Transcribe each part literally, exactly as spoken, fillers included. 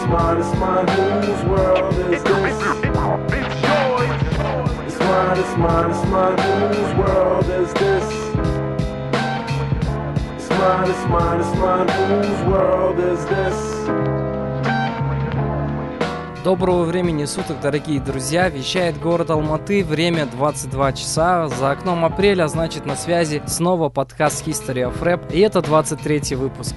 mine, it's mine, whose world is this? It's mine, it's mine, it's mine, whose world is this? It's mine, it's mine, it's mine, whose world is this? Доброго времени суток, дорогие друзья! Вещает город Алматы, время двадцать два часа. За окном апреля, значит, на связи снова подкаст History of Rap, и это двадцать третий выпуск.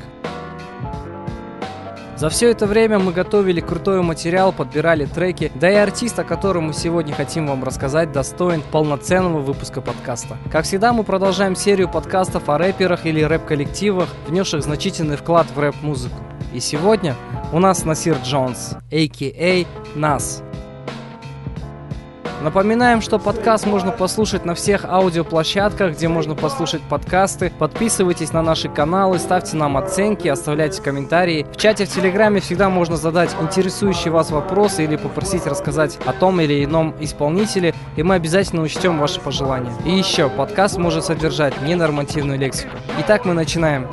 За все это время мы готовили крутой материал, подбирали треки, да и артист, о котором мы сегодня хотим вам рассказать, достоин полноценного выпуска подкаста. Как всегда, мы продолжаем серию подкастов о рэперах или рэп-коллективах, внесших значительный вклад в рэп-музыку. И сегодня у нас Насир Джонс, а ка а. Нас. Напоминаем, что подкаст можно послушать на всех аудиоплощадках, где можно послушать подкасты. Подписывайтесь на наши каналы, ставьте нам оценки, оставляйте комментарии. В чате в Телеграме всегда можно задать интересующие вас вопросы или попросить рассказать о том или ином исполнителе, и мы обязательно учтем ваши пожелания. И еще, подкаст может содержать ненормативную лексику. Итак, мы начинаем.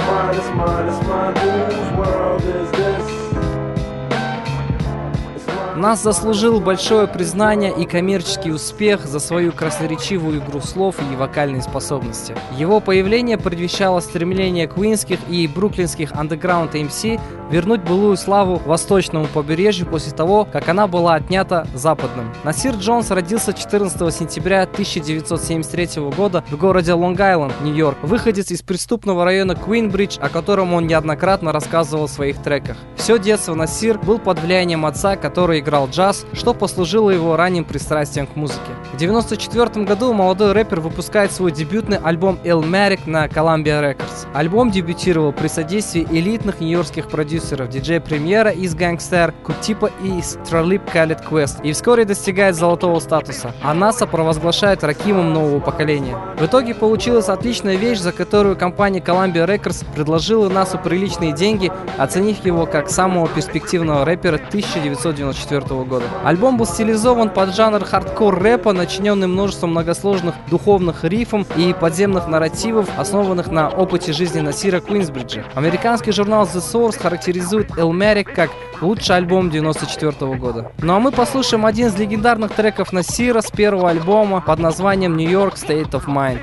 Нас заслужил большое признание и коммерческий успех за свою красноречивую игру слов и вокальные способности. Его появление предвещало стремление квинских и бруклинских андеграунд эм си вернуть былую славу восточному побережью после того, как она была отнята западным. Насир Джонс родился четырнадцатого сентября тысяча девятьсот семьдесят третьего года в городе Лонг-Айленд, Нью-Йорк, выходец из преступного района Куинбридж, о котором он неоднократно рассказывал в своих треках. Все детство Насир был под влиянием отца, который играл джаз, что послужило его ранним пристрастием к музыке. В девяносто четвёртом году молодой рэпер выпускает свой дебютный альбом Illmatic на Columbia Records. Альбом дебютировал при содействии элитных нью-йоркских продюсеров диджей Премьера из Gangster, Кутипа и Тралиб Калед Квест, и вскоре достигает золотого статуса, а НАСА провозглашает ракимом нового поколения. В итоге получилась отличная вещь, за которую компания Columbia Records предложила НАСА приличные деньги, оценив его как самого перспективного рэпера тысяча девятьсот девяносто четвёртого года. Альбом был стилизован под жанр хардкор-рэпа, начиненный множеством многосложных духовных рифов и подземных нарративов, основанных на опыте жизни Насира Куинсбриджа. Американский журнал The Source характеризует Illmatic как лучший альбом девяносто четвёртого года. Ну а мы послушаем один из легендарных треков Насира с первого альбома под названием New York State of Mind.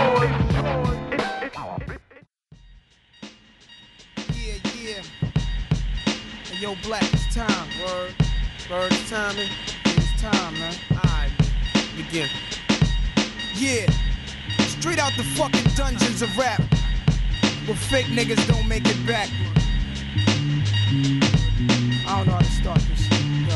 Yo, Black, it's time, word. Word, it's time, it's time, man. Alright, begin. Yeah, straight out the fucking dungeons of rap, where fake niggas don't make it back. I don't know how to start this shit. Yo.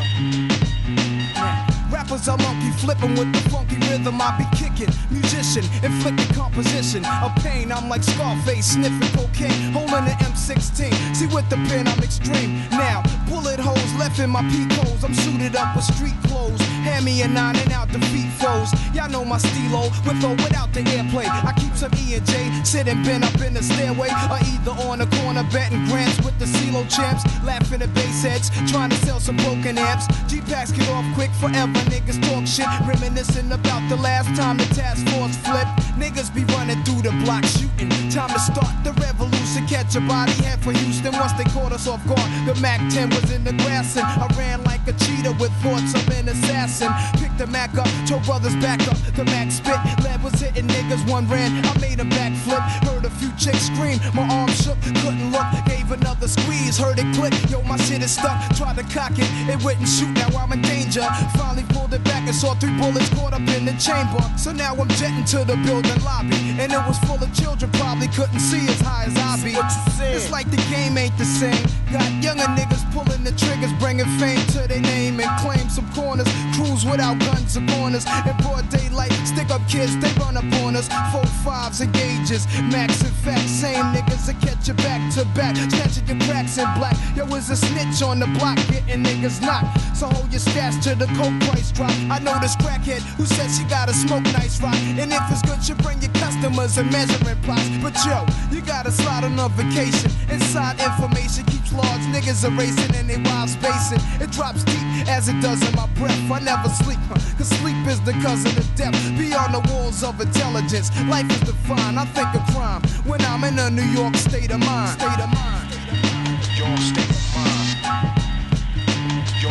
Man. Rappers are monkey flipping with the funky rhythm I be kicking. Musician, inflicting composition of pain. I'm like Scarface, sniffing cocaine, holding an M sixteen. See with the pen I'm extreme. Now, bullet holes left in my peak holes. I'm suited up with street clothes. Hand me a nine and out the feet foes. Y'all know my stilo, with or without the airplay. I keep some E and J, sitting bent up in the stairway, or either on the corner betting grants with the CeeLo champs, laughing at bass heads, trying to sell some broken amps. G-packs get off quick forever. Niggas talk shit, reminiscing about the last time the task force flipped. Niggas be running through the block shooting. Time to start the revolution. Catch a body head for Houston. Once they caught us off guard, the Mac ten was in the grass and I ran like a cheetah with thoughts of an assassin. Picked the Mac up, told brothers back up. The Mac spit, lead was hitting niggas. One ran, I made a backflip. Heard a few chicks scream, my arm shook, couldn't look. Gave another squeeze, heard it click. Yo, my shit is stuck. Tried to cock it, it wouldn't shoot. Now I'm in danger. Finally pulled it back and saw three bullets caught up in the chamber. So now I'm jetting to the building lobby, and it was full of children, probably couldn't see as high as I be. It's like the game ain't the same. Got younger niggas pulling the triggers, bringing fame to their name and claim some corners. Cruise without guns or corners. In broad daylight, stick up kids, they run up on us. Four fives and gauges, max and facts. Same niggas that catch you back to back, catching your cracks in black. Yo, is a snitch on the block, getting niggas knocked. So hold your stash till the coke price drop. I know this crackhead who said she gotta smoke nice rock, and if it's good, you bring your customers and measuring plots. But yo, you gotta slide on a vacation. Inside information keeps large niggas erasing and they wild spacing. It drops deep as it does in my breath. I never sleep, huh? Cause sleep is the cousin of death. Beyond the walls of intelligence, life is defined. I think of crime when I'm in a New York state of mind. State of mind. New York state of mind.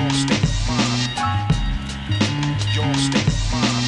Your state of mind. Your state of mind.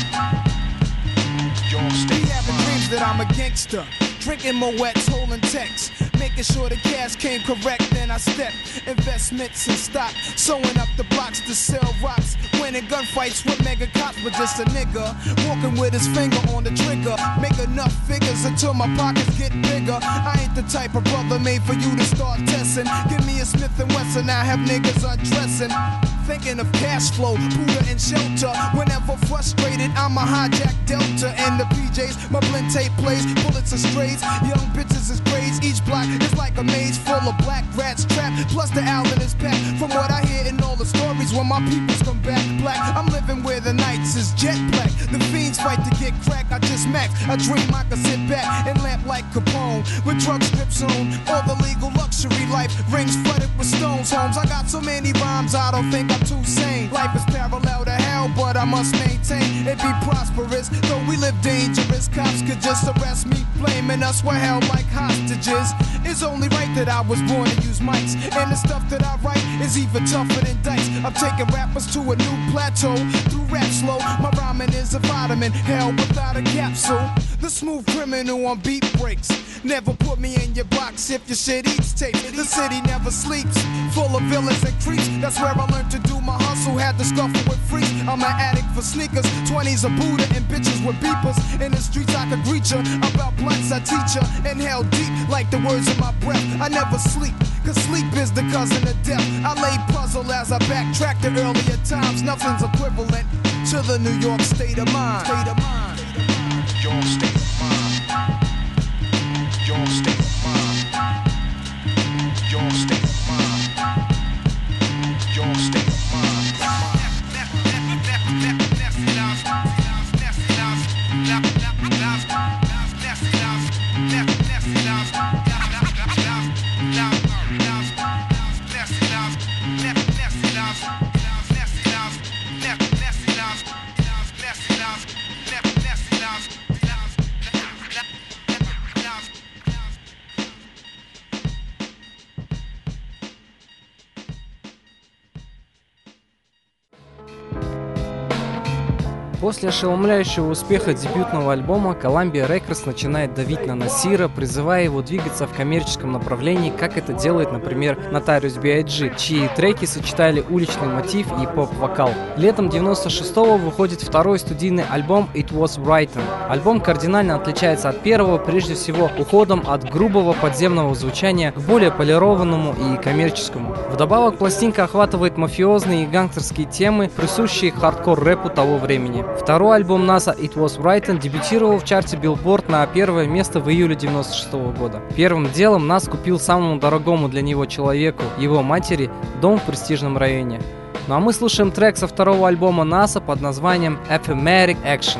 Your state of mind. Be having dreams that I'm a gangster. Drinking Moet's, holding texts. Making sure the cash came correct, then I stepped. Investments and stock, sewing up the blocks to sell rocks. Winning gunfights with mega cops, but just a nigga walking with his finger on the trigger. Make enough figures until my pockets get bigger. I ain't the type of brother made for you to start testing. Give me a Smith and Wesson, I have niggas undressing. Thinking of cash flow, Buddha and shelter. Whenever frustrated, I'm a hijack Delta. And the P Js, my blend tape plays, bullets are strays. Young bitches is grades, each block is like a maze full of black rats trapped. Plus the Allen is packed. From what I hear in all the stories, when my peoples come back black, I'm living where the nights is jet black. The fiends fight to get crack, I just max. I dream I could sit back and lamp like Capone with drug strips on. All the legal luxury life, rings flooded with stones. Homes, I got so many rhymes, I don't think I'm too sane. Life is parallel to hell, but I must maintain it be prosperous. Though we live dangerous, cops could just arrest me, blaming us we're held like hostages. It's only right that I was born to use mics, and the stuff that I write is even tougher than dice. I'm taking rappers to a new plateau through rap slow. My rhyming is a vitamin, hell without a capsule. The smooth criminal on beat breaks. Never put me in your box if your shit eats tape. The city never sleeps, full of villains and creeps. That's where I learned to do my hustle, had to scuffle with freaks. I'm an addict for sneakers, twenties a Buddha and bitches with beepers. In the streets I could greet ya, about blunts I teach ya. Inhale deep like the words in my breath. I never sleep, cause sleep is the cousin of death. I lay puzzle as I backtrack to earlier times. Nothing's equivalent to the New York state of mind. State of mind. Your state of mind. Your state of mind. Your state of mind. Your state of mind. После ошеломляющего успеха дебютного альбома Columbia Records начинает давить на Насира, призывая его двигаться в коммерческом направлении, как это делает, например, Notorious би ай джи, чьи треки сочетали уличный мотив и поп-вокал. Летом девяносто шестого выходит второй студийный альбом It Was Written. Альбом кардинально отличается от первого, прежде всего уходом от грубого подземного звучания к более полированному и коммерческому. Вдобавок пластинка охватывает мафиозные и гангстерские темы, присущие хардкор-рэпу того времени. Второй альбом НАСА It Was Written дебютировал в чарте Billboard на первое место в июле девяносто шестого года. Первым делом Нас купил самому дорогому для него человеку, его матери, дом в престижном районе. Ну а мы слушаем трек со второго альбома НАСА под названием Affirmative Action.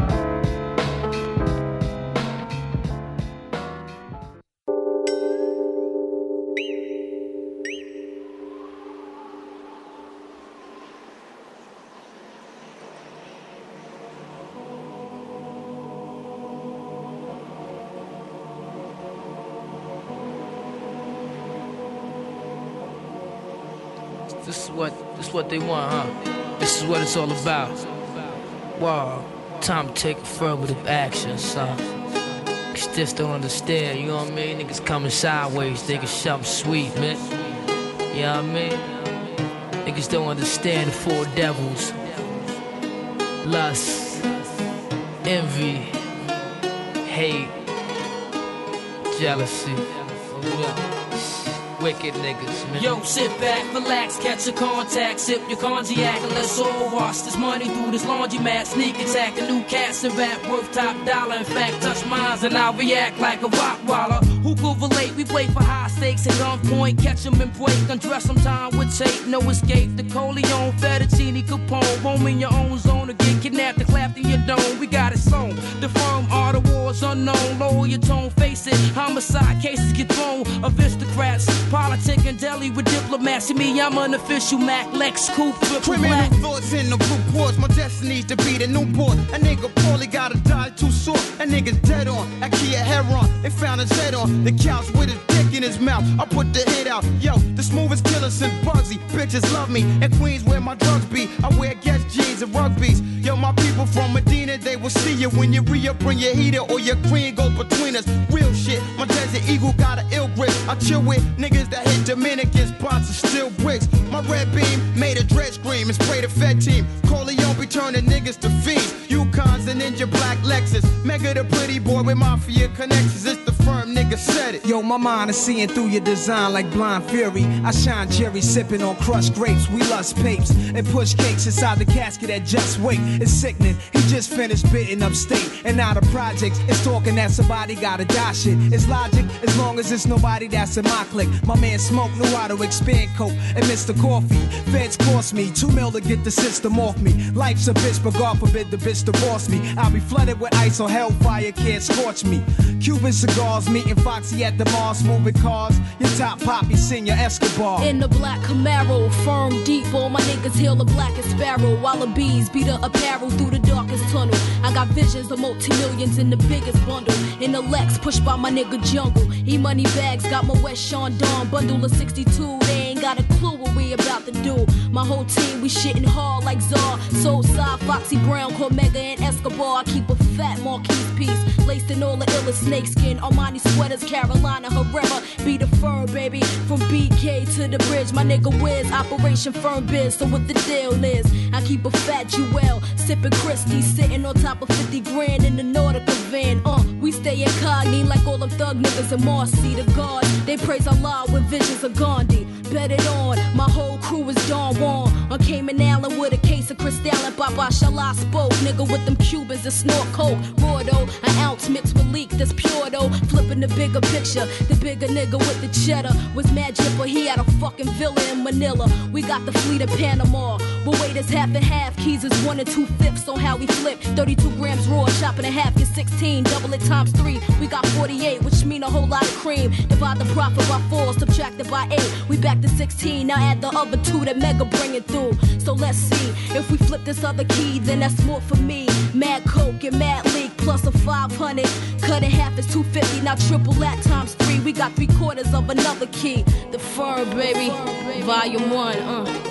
This is what this is what they want, huh? This is what it's all about. Wow, time to take affirmative action, son. Cause just don't understand, you know what I mean? Niggas coming sideways, thinking something sweet, man. You know what I mean? Niggas don't understand the four devils. Lust, envy, hate, jealousy. Wicked niggas, man. Yo, sit back, relax, catch a contact, sip your cognac, and let's all wash this money through this laundromat. Sneak attack, a new cats and rap worth top dollar. In fact, touch mines and I'll react like a rock waller. Who could relate? We play for high stakes at gunpoint, catch them and break, undress them time with tape, no escape. The Coleon, Fettuccine, Capone, home in your own zone, or get kidnapped and clapped in your dome. We got it sewn. The firm are the wars unknown. Lower your tone, face it. Homicide cases get thrown. Aristocrats. Politic and deli with diplomats. See me, I'm an official Mac Lex Coupe. Criminal black. Thoughts in the reports. My destiny's to be the newborn. A nigga poorly gotta die too short. A nigga's dead on. I key a heron. They found his head on the couch with his dick in his mouth. I put the hit out. Yo, the smoothest killer since Bugsy. Bitches love me. In Queens where my drugs be. I wear Guess jeans and rugbies. Yo, my people from Medina, they will see you when you re-up, bring your heater or your cream goes between us. Real shit. My Desert Eagle got an ill grip. I chill with niggas that hit Dominicans, spots and still bricks. My red beam made a dread scream and spray the Fed team. Corleone be turning niggas to fiends. Yukons and Ninja Black Lexus. Mega the pretty boy with mafia connections. It's the firm nigga said it. Yo, my mind is seeing through your design like blind fury. I shine Jerry sipping on crushed grapes. We lust papes and push cakes inside the casket that just wait. It's sickening. He just finished bidding upstate. And now the projects is talking that somebody gotta die shit. It's logic as long as it's nobody that's in my clique. My man Smoke knew how to expand coke and Mister Coffee. Feds cost me two mil to get the system off me. Life's a bitch, but God forbid the bitch divorce me. I'll be flooded with ice or hellfire can't scorch me. Cuban cigars, meeting Foxy at the Mars, moving cars. Your top poppy, Senior Escobar. In the black Camaro, firm deep, all my niggas hail the blackest sparrow. While the bees beat the apparel through the darkest tunnel. I got visions of multi-millions in the biggest bundle. In the Lex, pushed by my nigga Jungle. E-money bags, got my West Sean Dawn bundle of sixty-two. They ain't got a clue what we about to do. My whole team, we shitting hard like Czar. Soulside, Foxy Brown, Cormega, and Escobar. I keep a fat Marquise piece, laced in all the illest snakeskin. Armani sweaters, Carolina Herrera. Be the firm, baby. From B K to the bridge, my nigga Wiz, Operation Firm Biz. So what the deal is, I keep a fat Jewel, sipping Christie, sitting on top of fifty grand in the Nautica van. Uh, we stay incognito like all them thug niggas in Marcy. The God, they praise Allah with visions of Gandhi. Bet it on, my whole crew is Don Juan. On Cayman Island with a case of Cristal and Baba Shala spoke. Nigga with them Cubans that snort coke. Raw though, an ounce mixed with leak that's pure though. Flipping the bigger picture, the bigger nigga with the cheddar was mad jipper. He had a fucking villa in Manila. We got the fleet in Panama. But wait, it's half and half. Keys is one and two fifths on how we flip. thirty-two grams raw, chopping in half, get sixteen. Double it times three, we got forty-eight, which mean a whole lot of cream. Divide the profit by four, subtract it by eight. We back to sixteen, now add the other two that Mega bring it through. So let's see, if we flip this other key, then that's more for me. Mad Coke and Mad Leak plus a five hundred. Cut in half is two fifty, now triple that times three. We got three quarters of another key. The Firm, baby, volume one, uh.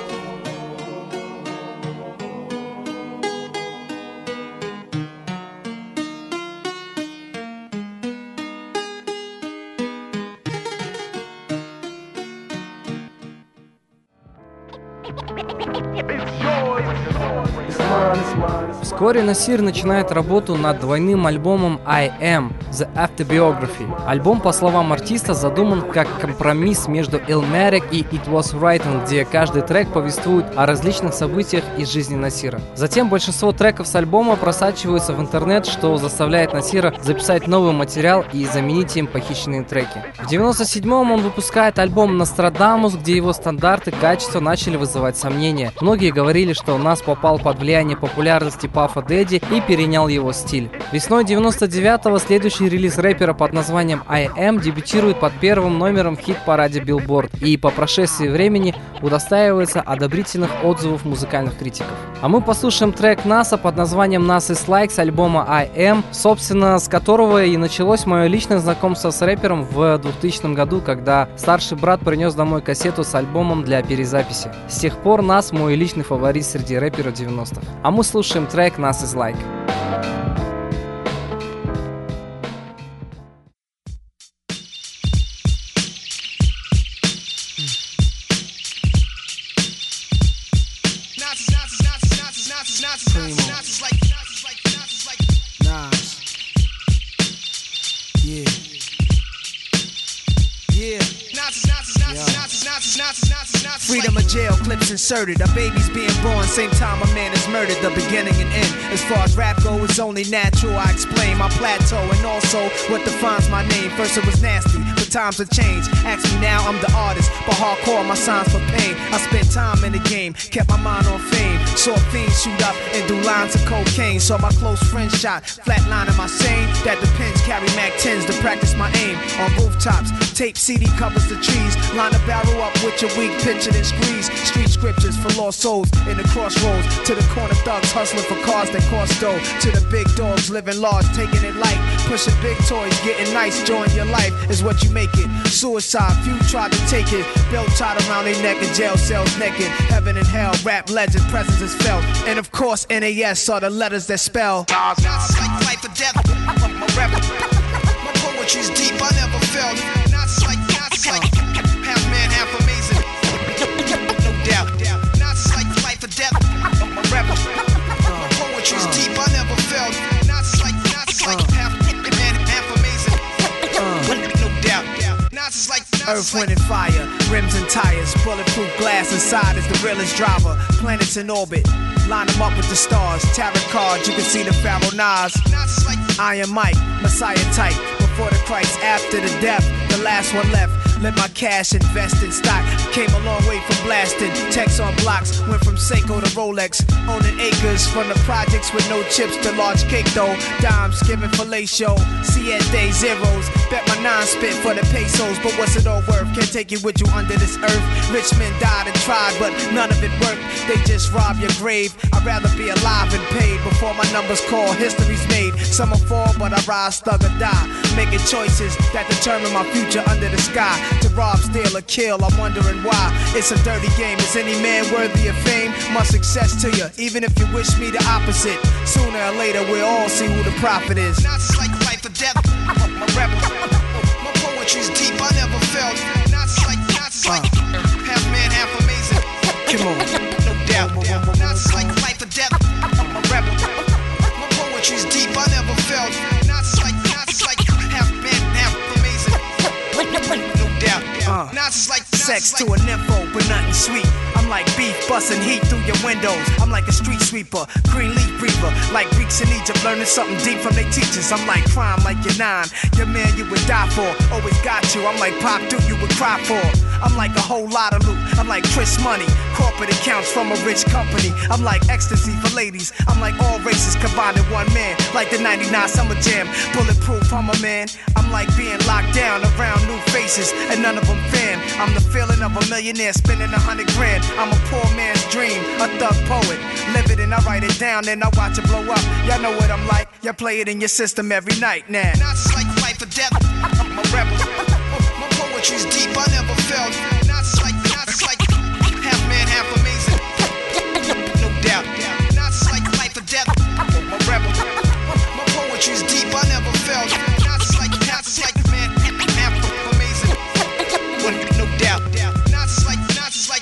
Вскоре Насир начинает работу над двойным альбомом I Am – The Autobiography. Альбом, по словам артиста, задуман как компромисс между Illmatic и It Was Written, где каждый трек повествует о различных событиях из жизни Насира. Затем большинство треков с альбома просачиваются в интернет, что заставляет Насира записать новый материал и заменить им похищенные треки. В девяносто седьмом он выпускает альбом Нострадамус, где его стандарты качества начали вызывать сомнения. Многие говорили, что Нас попал под влияние популярности Пафа Дэдди и перенял его стиль. Весной девяносто девятого следующий релиз рэпера под названием I Am дебютирует под первым номером в хит-параде Billboard и по прошествии времени удостаивается одобрительных отзывов музыкальных критиков. А мы послушаем трек Наса под названием Nas Is Like с альбома I Am, собственно, с которого и началось мое личное знакомство с рэпером в двухтысячном году, когда старший брат принес домой кассету с альбомом для перезаписи. С тех пор Нас мой личный фаворит среди рэперов девяностых. А мы слушаем трек Nas Is Like. Freedom of jail, clips inserted. A baby's being born, same time a man is murdered. The beginning and end. As far as rap go, it's only natural. I explain my plateau and also what defines my name. First it was nasty, but times have changed. Ask me now, I'm the artist, but hardcore, my signs for pain. I spent time in the game, kept my mind on fame. Saw fiends shoot up and do lines of cocaine. Saw my close friend shot, flatlining my sane. That depends, carry Mac tens to practice my aim. On rooftops, tape C D covers the trees. Line a barrel up with your weak picture then squeeze. Street scriptures for lost souls in the crossroads. To the corner thugs hustling for cars that cost dough. To the big dogs living large, taking it light. Pushing big toys, getting nice, enjoying your life is what you make make it. Suicide, few tried to take it. Belt tied around their neck in jail cells naked. Heaven and hell, rap legend, presence is felt. And of course, N A S are the letters that spell. Not like life or death. I'm a rebel. My poetry's deep, I never felt. Not like, not like half man, half amazing. No doubt. Not like life or death. I'm a rebel. My poetry's deep, I never felt. Not like, not like half man, half amazing. No doubt. Not like Earth, wind, and fire, rims and tires, bulletproof glass inside is the realest driver. Planets in orbit, line them up with the stars. Tarot cards, you can see the Pharaoh Nas. Iron Mike, Messiah type. Before the Christ, after the death, the last one left. Let my cash invest in stock. Came a long way from blasting. Text on blocks. Went from Seiko to Rolex. Owning acres from the projects with no chips to large cake though. Dimes giving fellatio. Siete day zeros. Bet my nine spit for the pesos. But what's it all worth? Can't take you with you under this earth. Rich men died and tried, but none of it worked. They just rob your grave. I'd rather be alive and paid before my numbers call. History's made. Some will fall, but I rise, thug or die. Making choices that determine my future under the sky. To rob, steal, or kill, I'm wondering why. It's a dirty game. Is any man worthy of fame? Much success to you, even if you wish me the opposite. Sooner or later, we'll all see who the prophet is. Not like life or death. I'm a rebel. My poetry's deep, I never felt. Not like, not like half man, half amazing. Come on. No doubt. Not like life or death. I'm a rebel. My poetry's deep, I never felt. Not like, not like half man, half amazing. No doubt. Uh, not like sex to a nympho, but nothing sweet. I'm like beef busting heat through your windows. I'm like a street sweeper, green leaf breather. Like Greeks in Egypt, learning something deep from their teachers. I'm like crime, like your nine. Your man you would die for, always got you. I'm like Pop Duke, you would cry for. I'm like a whole lot of loot. I'm like Chris Money, corporate accounts from a rich company. I'm like ecstasy for ladies. I'm like all races combined in one man. Like the ninety-nine Summer Jam, bulletproof, I'm a man. I'm like being locked down around new faces, and none of them fan. I'm the feeling of a millionaire spending a hundred grand. I'm a poor man's dream, a thug poet. Live it and I write it down, then I watch it blow up. Y'all know what I'm like. Y'all play it in your system every night now. Not like life or death. I'm a rebel. My poetry's deep, I never felt. Not like, not like half man, half amazing. No doubt. Not like life or death. I'm a rebel. My poetry's deep, I never felt. Not like, not like man, half amazing. No doubt. Not like, not like.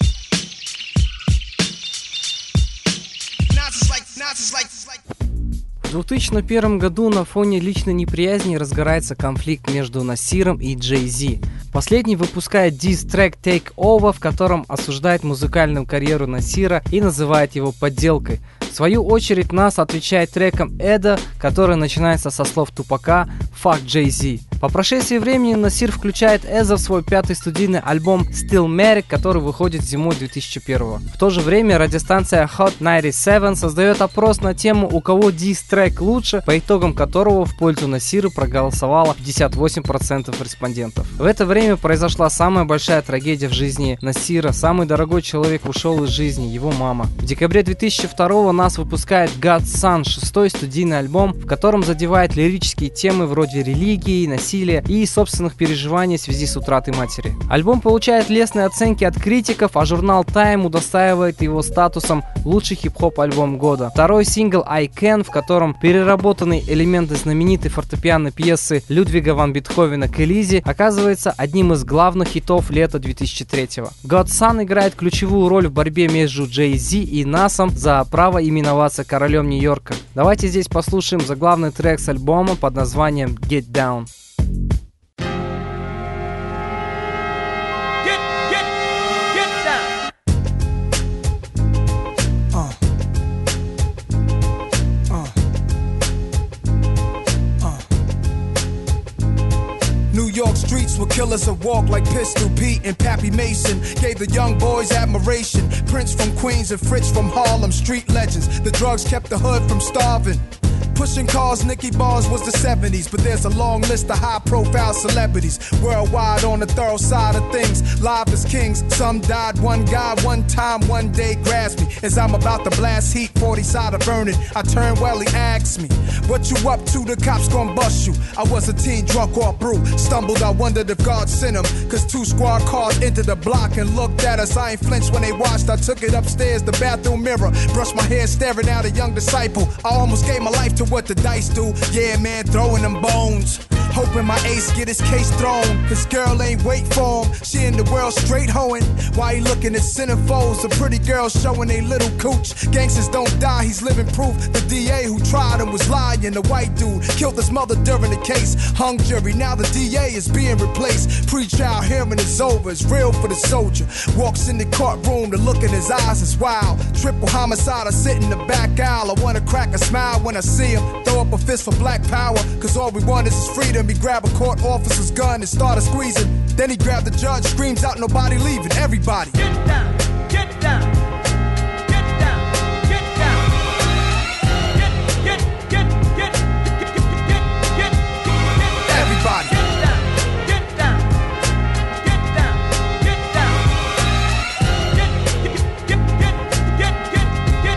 Not like, not like. В две тысячи первом году на фоне личной неприязни разгорается конфликт между Насиром и Джей Зи. Последний выпускает дис-трек Take Over, в котором осуждает музыкальную карьеру Насира и называет его подделкой. В свою очередь Нас отвечает треком Эда, который начинается со слов Тупака «Fuck Jay-Z». По прошествии времени Насир включает Эза в свой пятый студийный альбом Stillmatic, который выходит зимой две тысячи первого. В то же время радиостанция Hot девяносто семь создает опрос на тему, у кого дис-трек лучше, по итогам которого в пользу Насира проголосовало пятьдесят восемь процентов респондентов. В это время произошла самая большая трагедия в жизни Насира. Самый дорогой человек ушел из жизни, его мама. В декабре две тысячи второго Нас выпускает God's Son, шестой студийный альбом, в котором задевает лирические темы вроде религии, насилия и собственных переживаний в связи с утратой матери. Альбом получает лестные оценки от критиков, а журнал Time удостаивает его статусом лучший хип-хоп альбом года. Второй сингл I Can, в котором переработанные элементы знаменитой фортепианной пьесы Людвига ван Бетховена к Элизе, оказывается одним из главных хитов лета две тысячи третьего. God's Son играет ключевую роль в борьбе между Jay-Z и Насом за право именоваться королем Нью-Йорка. Давайте здесь послушаем заглавный трек с альбома под названием Get Down. New York streets were killers that walk like Pistol Pete and Pappy Mason. Gave the young boys admiration. Prince from Queens and Fritz from Harlem, street legends. The drugs kept the hood from starving. Pushing cars, Nicky Bars was the seventies, but there's a long list of high-profile celebrities worldwide on the thorough side of things. Live as kings, some died. One guy, one time, one day grasped me as I'm about to blast heat. forty side of Vernon. I turned well, he asked me, "What you up to? The cops gon' bust you." I was a teen drunk off brew. Stumbled, I wondered if God sent him, cause two squad cars entered the block and looked at us. I ain't flinched when they watched. I took it upstairs, the bathroom mirror, brushed my hair, staring at a young disciple. I almost gave my life to what the dice do. Yeah, man, throwing them bones. Hoping my ace get his case thrown. His girl ain't wait for him. She in the world straight hoeing. Why he looking at centerfolds? A pretty girl showing they little cooch. Gangsters don't die, he's living proof. The D A who tried him was lying. The white dude killed his mother during the case. Hung jury, now the D A is being replaced. Pre-trial hearing is over, it's real for the soldier. Walks in the courtroom, the look in his eyes is wild. Triple homicide, I sit in the back aisle. I wanna crack a smile when I see him. Throw up a fist for black power, cause all we want is his freedom. He grabbed a court officer's gun and started squeezing. Then he grabbed the judge, screams out, "Nobody leaving, everybody." Get down, get down, get down, get down. Get, get, get, get, get, get, get, get, everybody. Get down, get down, get down, get down. Get, get, get, get, get, get, get,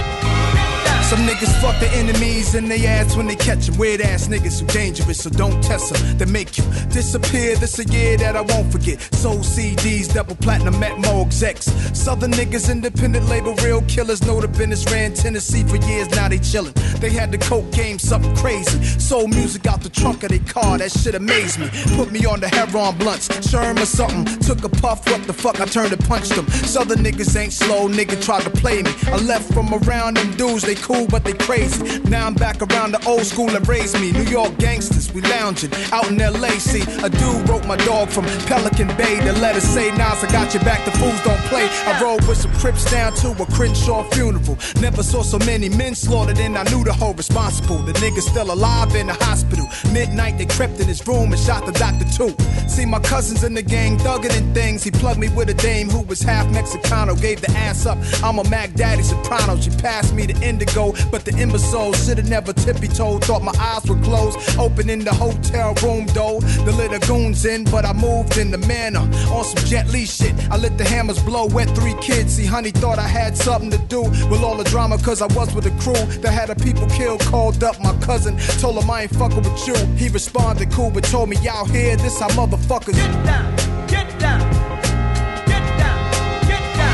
get down. Some niggas fuck the enemies in they ass when they catch them. Weird ass niggas who dangerous, so don't test them. They make you disappear. This a year that I won't forget. Soul C Ds, double platinum, met more execs. Southern niggas, independent label, real killers. Know the business, ran Tennessee for years, now they chillin'. They had the coke game, something crazy. Soul music out the trunk of their car, that shit amazed me. Put me on the Heron blunts, Sherm or something. Took a puff, what the fuck, I turned and punched them. Southern niggas ain't slow, nigga tried to play me. I left from around them dudes, they cool but they crazy. Now I'm back around the old school that raised me. New York gangsters, we lounging out in L A. See, a dude wrote my dog from Pelican Bay. The letter say, Nas, I got your back, the fools don't play. I rode with some Crips down to a Crenshaw funeral. Never saw so many men slaughtered and I knew the whole responsible. The nigga's still alive in the hospital. Midnight they crept in his room and shot the doctor too. See my cousins in the gang thugging and things. He plugged me with a dame who was half Mexicano. Gave the ass up, I'm a Mac Daddy soprano. She passed me the indigo, but the imbecile should've never tippy-toed. Thought my eyes were closed, opening the hotel room door. The little goons in, but I moved in the manner. On some Jet Li shit, I let the hammers blow, wet three kids. See, honey thought I had something to do with all the drama, cause I was with a crew that had a people killed. Called up my cousin, told him I ain't fucking with you. He responded cool, but told me, y'all here, this how motherfuckers get down, get down, get down, get down,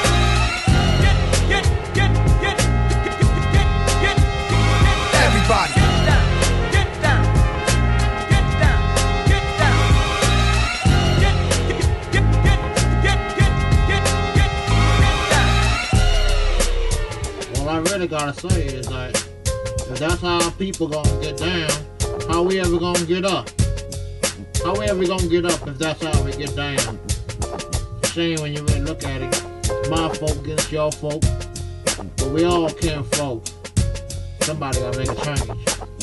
get, get, get, get, get, get, get, get, everybody. I really gotta say is that if that's how people gonna get down, how we ever gonna get up? How we ever gonna get up if that's how we get down? Shame when you really look at it. My folk against your folk, but we all kin folk. Somebody gotta make a change.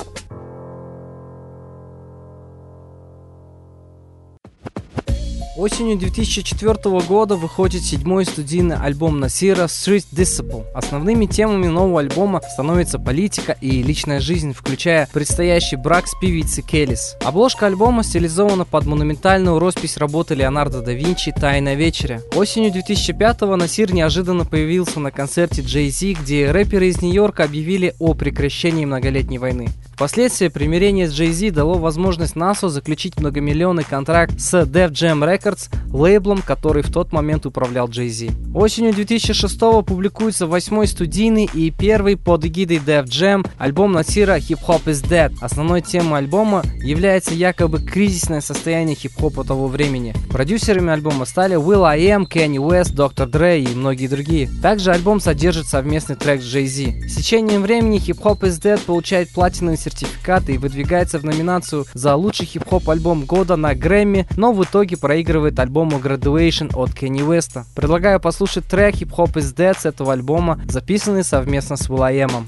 Осенью две тысячи четвёртого года выходит седьмой студийный альбом Насира Street Disciple. Основными темами нового альбома становится политика и личная жизнь, включая предстоящий брак с певицей Келлис. Обложка альбома стилизована под монументальную роспись работы Леонардо да Винчи «Тайная вечеря». Осенью две тысячи пятого Насир неожиданно появился на концерте Jay-Z, где рэперы из Нью-Йорка объявили о прекращении многолетней войны. Впоследствии примирение с Jay-Z дало возможность Насу заключить многомиллионный контракт с Def Jam Records, лейблом, который в тот момент управлял Jay-Z. Осенью две тысячи шестого публикуется восьмой студийный и первый под эгидой Def Jam альбом Насира Hip Hop is Dead. Основной темой альбома является якобы кризисное состояние хип-хопа того времени. Продюсерами альбома стали Will I Am, Kanye West, доктор Dre и многие другие. Также альбом содержит совместный трек с Jay-Z. С течением времени Hip Hop is Dead получает платиновый сертификат и выдвигается в номинацию за лучший хип-хоп альбом года на Грэмми, но в итоге проигрывает альбому Graduation от Kanye West. Предлагаю послушать трек Hip Hop is Dead с этого альбома, записанный совместно с Will I Am.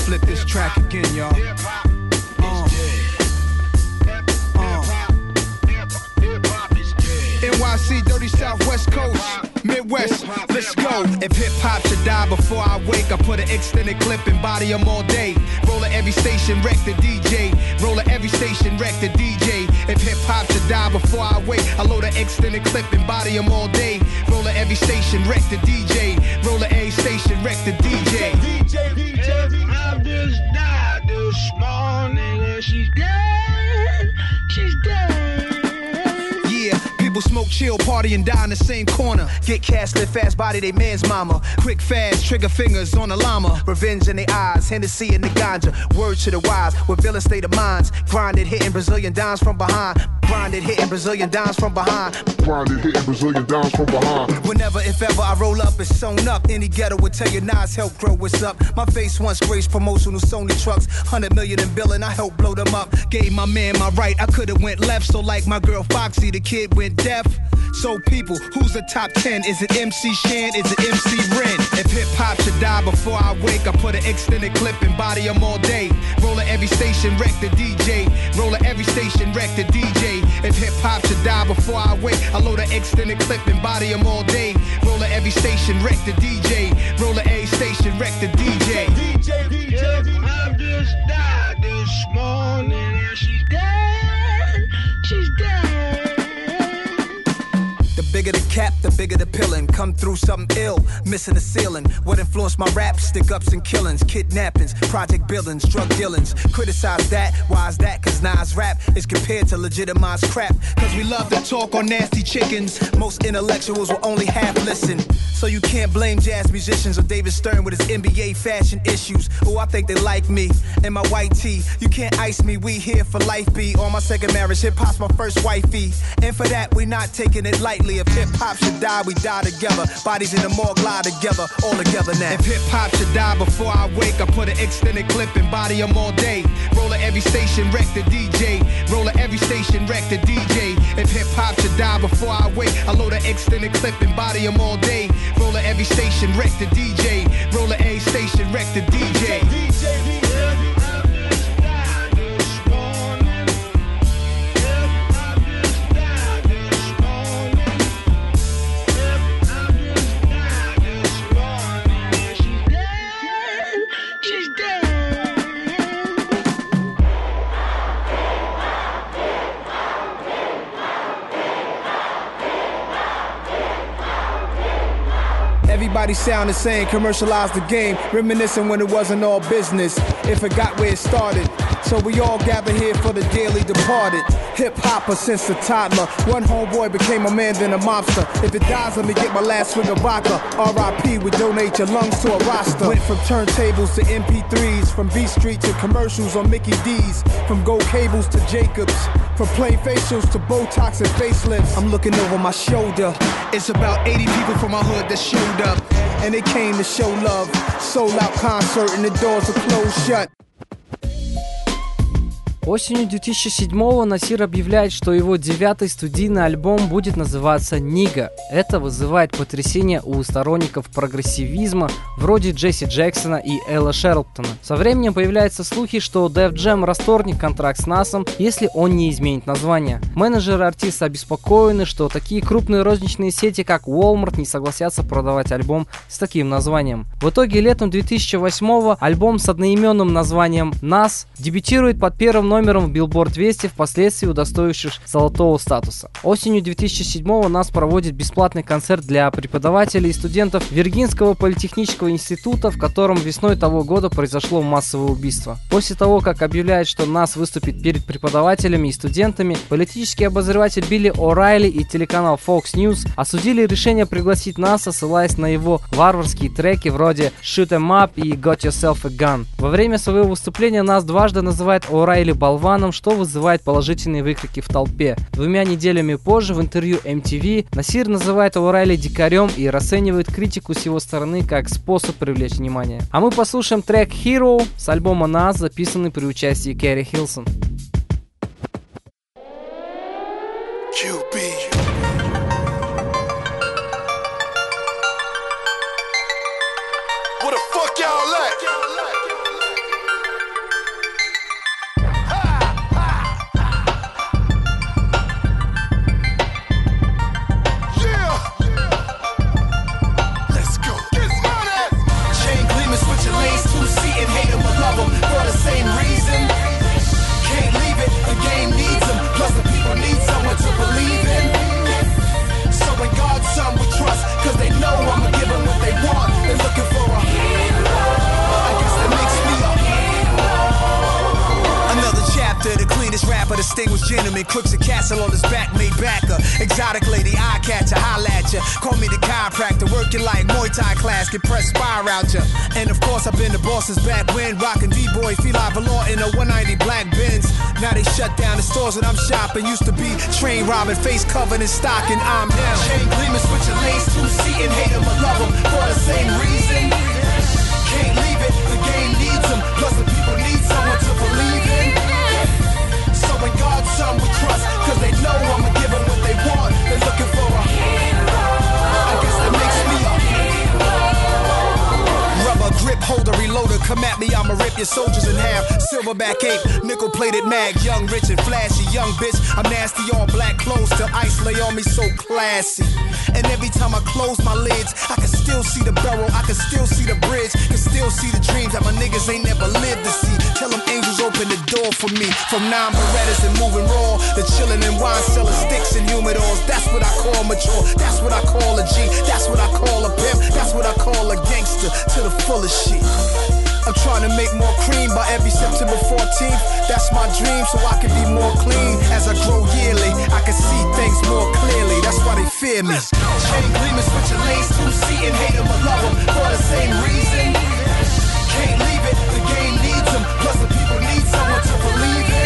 flip this track again, y'all. Uh. N Y C, dirty Southwest Coast, Midwest, let's go. If hip-hop should die before I wake, I put an extended clip and body them all day. Roll at every station, wreck the D J. Roll at every station, wreck the D J. If hip-hop should die before I wake, I load an extended clip and body them all day. Roll at every station, wreck the D J. Roll at every station, wreck the D J. D J, D J, I just died this morning and she's dead, she's dead. Yeah, people smoke, chill, party, and die in the same corner. Get cash, live fast, body they man's mama. Quick, fast, trigger fingers on the llama. Revenge in their eyes, Hennessy in the ganja. Word to the wise, with villain state of minds. Grinded, hitting Brazilian dimes from behind. Grinded, hitting Brazilian dimes from behind. Grinded, hitting Brazilian dimes from behind. Whenever, if ever, I roll up, it's sewn up. Any ghetto would tell you Nas help grow what's up. My face once graced promotional Sony trucks. Hundred million in billing, I helped blow them up. Gave my man my right, I could've went left. So like my girl Foxy, the kid went deaf. So people, who's the top ten? Is it M C Shan? Is it M C Ren? If hip-hop should die before I wake, I put an extended clip and body them all day. Roll at every station, wreck the D J. Roll at every station, wreck the D J. If hip-hop should die before I wake, I load an extended clip and body them all day. Roll at every station, wreck the D J. Roll at every station, wreck the D J. D J, D J, I just died this morning and she's dead, she's dead. The bigger the cap, the bigger the pillin'. Come through something ill, missing the ceiling. What influenced my rap? Stick-ups and killings, kidnappings, project billings, drug dealings. Criticize that, why is that? Cause Nas rap is compared to legitimized crap. Cause we love to talk on nasty chickens. Most intellectuals will only half listen. So you can't blame jazz musicians or David Stern with his N B A fashion issues. Oh, I think they like me and my white tee. You can't ice me, we here for life, B. On my second marriage, hip-hop's my first wifey. And for that, we not taking it lightly. If hip-hop should die, we die together. Bodies in the morgue lie together, all together now. If hip-hop should die before I wake, I put an extended clip and body them all day. Roll at every station, wreck the D J. Roll at every station, wreck the D J. If hip-hop should die before I wake, I load an extended clip and body them all day. Roll at every station, wreck the D J. Roll at every station, wreck the D J. D J, D J. Everybody sound the same, commercialize the game, reminiscing when it wasn't all business, if it got where it started. So we all gather here for the dearly departed. Hip-hopper since a toddler. One homeboy became a man, then a mobster. If it dies, let me get my last swig of vodka. R I P, we donate your lungs to a roster. Went from turntables to M P threes, from B Street to commercials on Mickey D's, from gold cables to Jacobs, from plain facials to Botox and facelifts. I'm looking over my shoulder. It's about eighty people from my hood that showed up, and they came to show love. Sold out concert and the doors are closed shut. Осенью две тысячи седьмого Насир объявляет, что его девятый студийный альбом будет называться «Нига». Это вызывает потрясение у сторонников прогрессивизма вроде Джесси Джексона и Элла Шерлтона. Со временем появляются слухи, что Def Jam расторгнет контракт с Насом, если он не изменит название. Менеджеры артиста обеспокоены, что такие крупные розничные сети, как Walmart, не согласятся продавать альбом с таким названием. В итоге летом две тысячи восьмого альбом с одноименным названием «Нас» дебютирует под первым номером в Billboard двести, впоследствии удостоившись золотого статуса. Осенью две тысячи седьмого Нас проводит бесплатный концерт для преподавателей и студентов Виргинского политехнического института, в котором весной того года произошло массовое убийство. После того, как объявляет, что Нас выступит перед преподавателями и студентами, политический обозреватель Билли О'Райли и телеканал Fox News осудили решение пригласить Наса, ссылаясь на его варварские треки вроде Shoot 'em Up и Got Yourself a Gun. Во время своего выступления Нас дважды называет О'Райли болваном, что вызывает положительные выкрики в толпе. Двумя неделями позже в интервью эм ти ви Насир называет О'Райли дикарем и расценивает критику с его стороны как способ привлечь внимание. А мы послушаем трек Hero с альбома Nas, записанный при участии Кэрри Хилсон. кью би. Where the fuck y'all at? distinguished gentleman, crooks a castle on his back, made backer. Exotic lady, eye catcher, holla at ya. Call me the chiropractor, working like Muay Thai class, get pressed fire out ya. And of course, I've been the boss's back when rockin' D-boy, Feli Valor in a one ninety black Benz. Now they shut down the stores that I'm shopping. Used to be train robbing, face covered in stocking. I'm now chain gleaming, switching lanes, two-seating, hate them or love them for the same reason. Can't leave it, the game needs them. Plus the people need someone to believe in. So in God's son we trust, cause they know I'ma give them what they want. They're looking for a hero. I guess that makes me a hero. Rubber grip holder, reloader, come at me, I'ma rip your soldiers in half. Silverback ape, nickel plated mag, young, rich and flashy, young bitch. I'm nasty, all black clothes till ice lay on me, so classy. And every time I close my lids, I can still see the barrel, I can still see the bridge, can still see the dreams that my niggas ain't never lived to see. Tell them angels open the door for me. From nine Berettas and moving raw, the chillin' and wine selling sticks and humidors. That's what I call mature, that's what I call a G, that's what I call a pimp, that's what I call a gangster to the fullest shit. I'm trying to make more cream by every September fourteenth. That's my dream, so I can be more clean. As I grow yearly, I can see things more clearly. That's why they fear me. Chain gleaming, switching lanes, two-seating, hate them or love them for the same reason. Can't leave it, the game needs them. Plus the people need someone to believe in.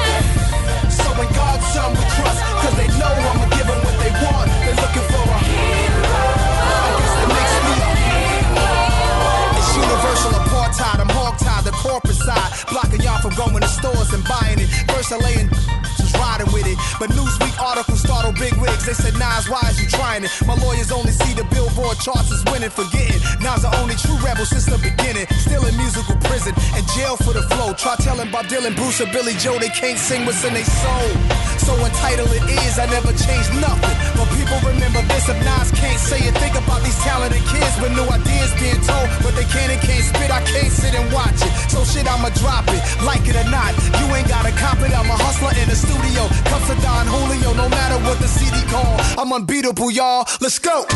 So in God's son we trust, cause they know I'ma give them what they want. They're looking for a hero. I guess that makes me a hero. It's universal apartheid, I'm hog-tied, the corporate side, blocking y'all from going to stores and buying it. First I lay in just riding with it, but Newsweek articles startled big wigs. They said, Nas, why is you trying it? My lawyers only see the Billboard charts as winning, forgetting Nas the only true rebel since the beginning. Still in musical prison and jail for the flow. Try telling Bob Dylan, Bruce or Billy Joe they can't sing what's in their soul. So entitled it is, I never changed nothing. But people remember this, if Nas can't say it. Think about these talented kids with new ideas being told, but they can't and can't spit. I can't sit and watch it. So shit, I'ma drop it, like it or not. You ain't gotta cop it, I'm a hustler in the studio. Cups of Don Julio, no matter what the C D call. I'm unbeatable, y'all. Let's go.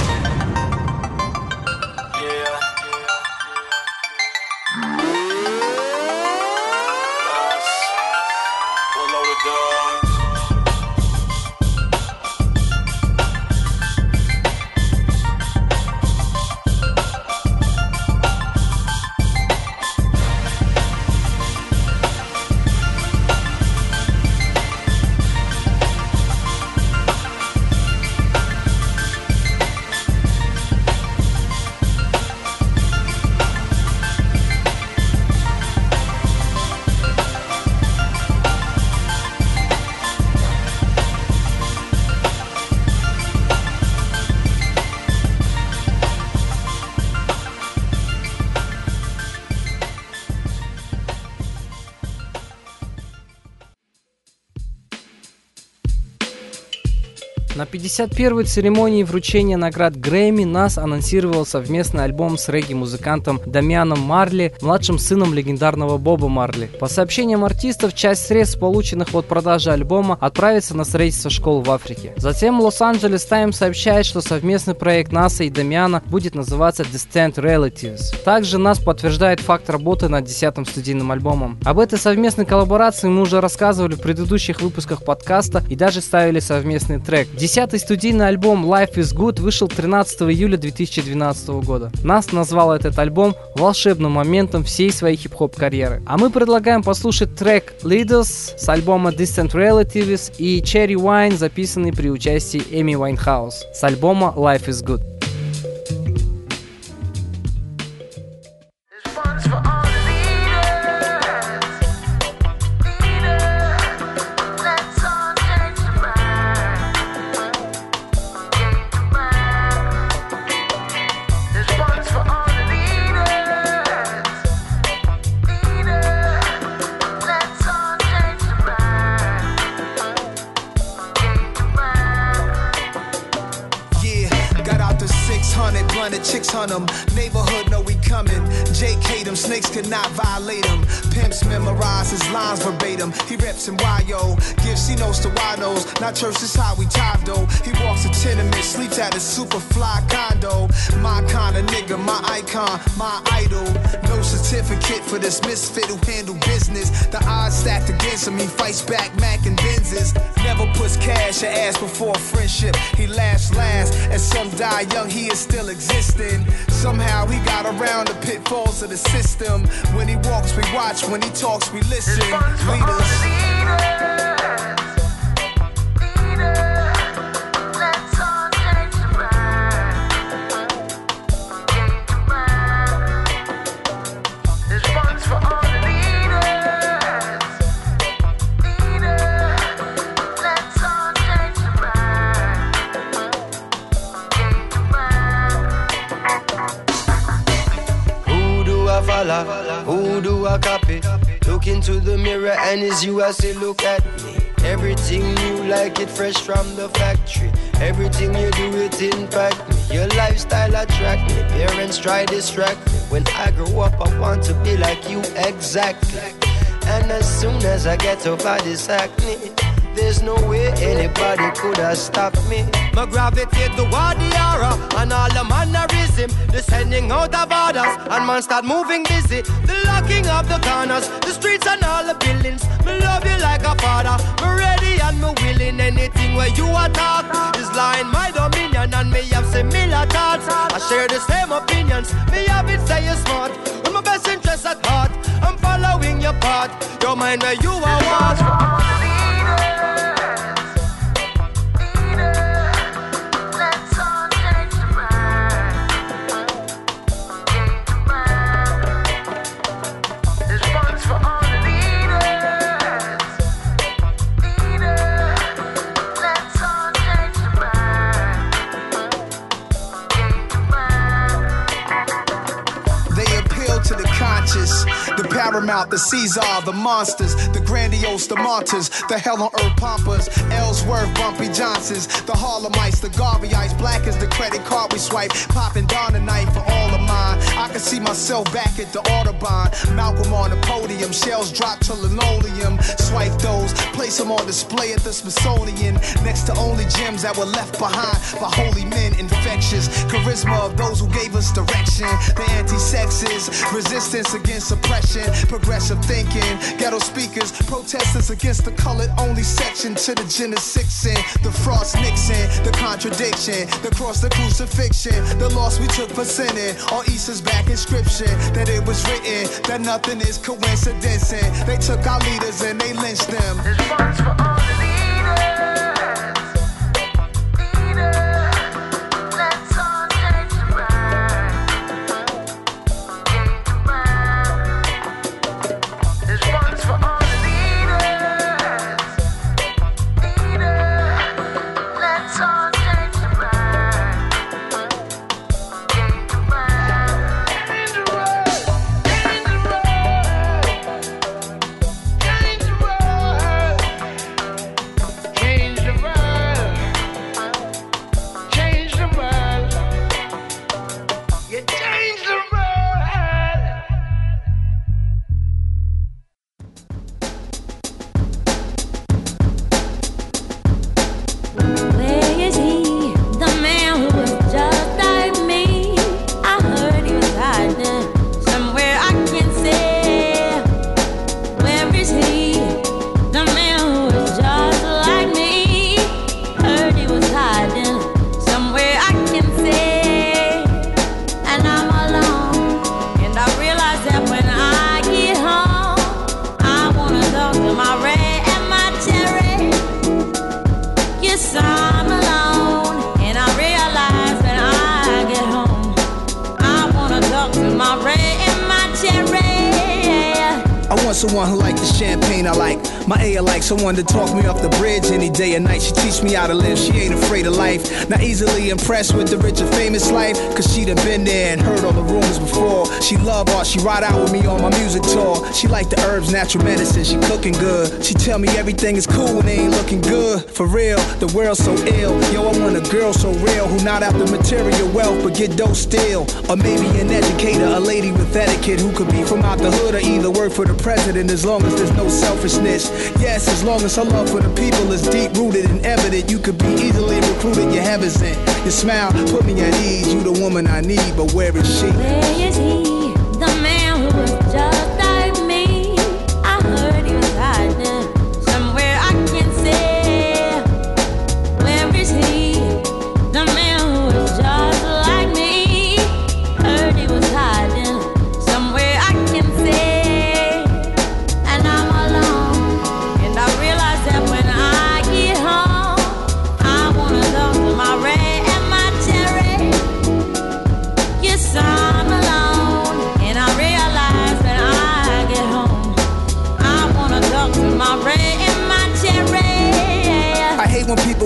На пятьдесят первой церемонии вручения наград Грэмми Нас анонсировал совместный альбом с регги-музыкантом Дамианом Марли, младшим сыном легендарного Боба Марли. По сообщениям артистов, часть средств, полученных от продажи альбома, отправится на строительство школ в Африке. Затем Лос-Анджелес Таймс сообщает, что совместный проект Наса и Дамиана будет называться Distant Relatives. Также Нас подтверждает факт работы над десятым студийным альбомом. Об этой совместной коллаборации мы уже рассказывали в предыдущих выпусках подкаста и даже ставили совместный трек. Десятый студийный альбом Life is Good вышел тринадцатого июля две тысячи двенадцатого года. Нас назвал этот альбом волшебным моментом всей своей хип-хоп карьеры. А мы предлагаем послушать трек Leaders с альбома Distant Relatives и Cherry Wine, записанный при участии Эми Уайнхаус с альбома Life is Good. Chicks on them, neighborhood know we coming. Jake hate him, snakes could not violate him. Pimps memorize his lines verbatim. He reps in Y O, gives C notes to Winos. Not church, this how we top though. He walks a tenement, sleeps at his super fly condo. My kind of nigga, my icon, my idol. No certificate for this misfit who handle business. The odds stacked against him, he fights back, Mac and Benzes. Never puts cash or ass before friendship. He laughs last, and some die young, he is still existing. Somehow he got around the pitfalls of the system. When he walks, we watch. When he talks, we listen. Leaders. Who do I copy? Look into the mirror and it's you I say look at me. Everything new like it fresh from the factory. Everything you do it impact me. Your lifestyle attract me. Parents try distract me. When I grow up I want to be like you exactly. And as soon as I get over this acne, there's no way anybody could have stopped me. My gravitate toward the aura and all the mannerism, the sending out of orders, and man start moving busy. The locking of the corners, the streets and all the buildings. Me love you like a father, me ready and me willing. Anything where you attack is lying my dominion, and me have similar thoughts. I share the same opinions. Me have it say you're smart, with my best interest at heart. I'm following your path, your mind where you are what. The paramount, the Caesar, the monsters, the grandiose, the martyrs, the hell on earth pompers, Ellsworth, Bumpy Johnsons, the Harlemites, the Garveyites, black as the credit card we swipe, popping down the night for all of mine. I can see myself back at the Audubon, Malcolm on the podium, shells drop to linoleum, swipe those, place them on display at the Smithsonian, next to only gems that were left behind by holy men, infectious, charisma of those who gave us direction, the anti-sexes, resistance against suppression, progressive thinking, ghetto speakers, protesters against the colored only section, to the Genesixin, the Frost Nixon, the contradiction, the cross, the crucifixion, the loss we took for sinning, on Easter's back inscription, that it was written, that nothing is coincidence, and they took our leaders and they lynched them. This one's for all the leaders. Someone who liked the champagne I like. My A I like someone to talk me off the bridge any day or night. She teach me how to live, she ain't afraid of life. Not easily impressed with the rich and famous life, cause she done been there and heard all the rumors before. She love art, she ride out with me on my music tour. She like the herbs, natural medicine, she cooking good. She tell me everything is cool when they ain't looking good. For real, the world's so ill. Yo, I want a girl so real, who not after material wealth but get dough still. Or maybe an educator, a lady with etiquette, who could be from out the hood or either work for the president, as long as there's no selfishness. Yes, as long as her love for the people is deep rooted and evident, you could be easily recruited, your heaven's in. Your smile put me at ease, you the woman I need, but where is she? Where is he, the man who was just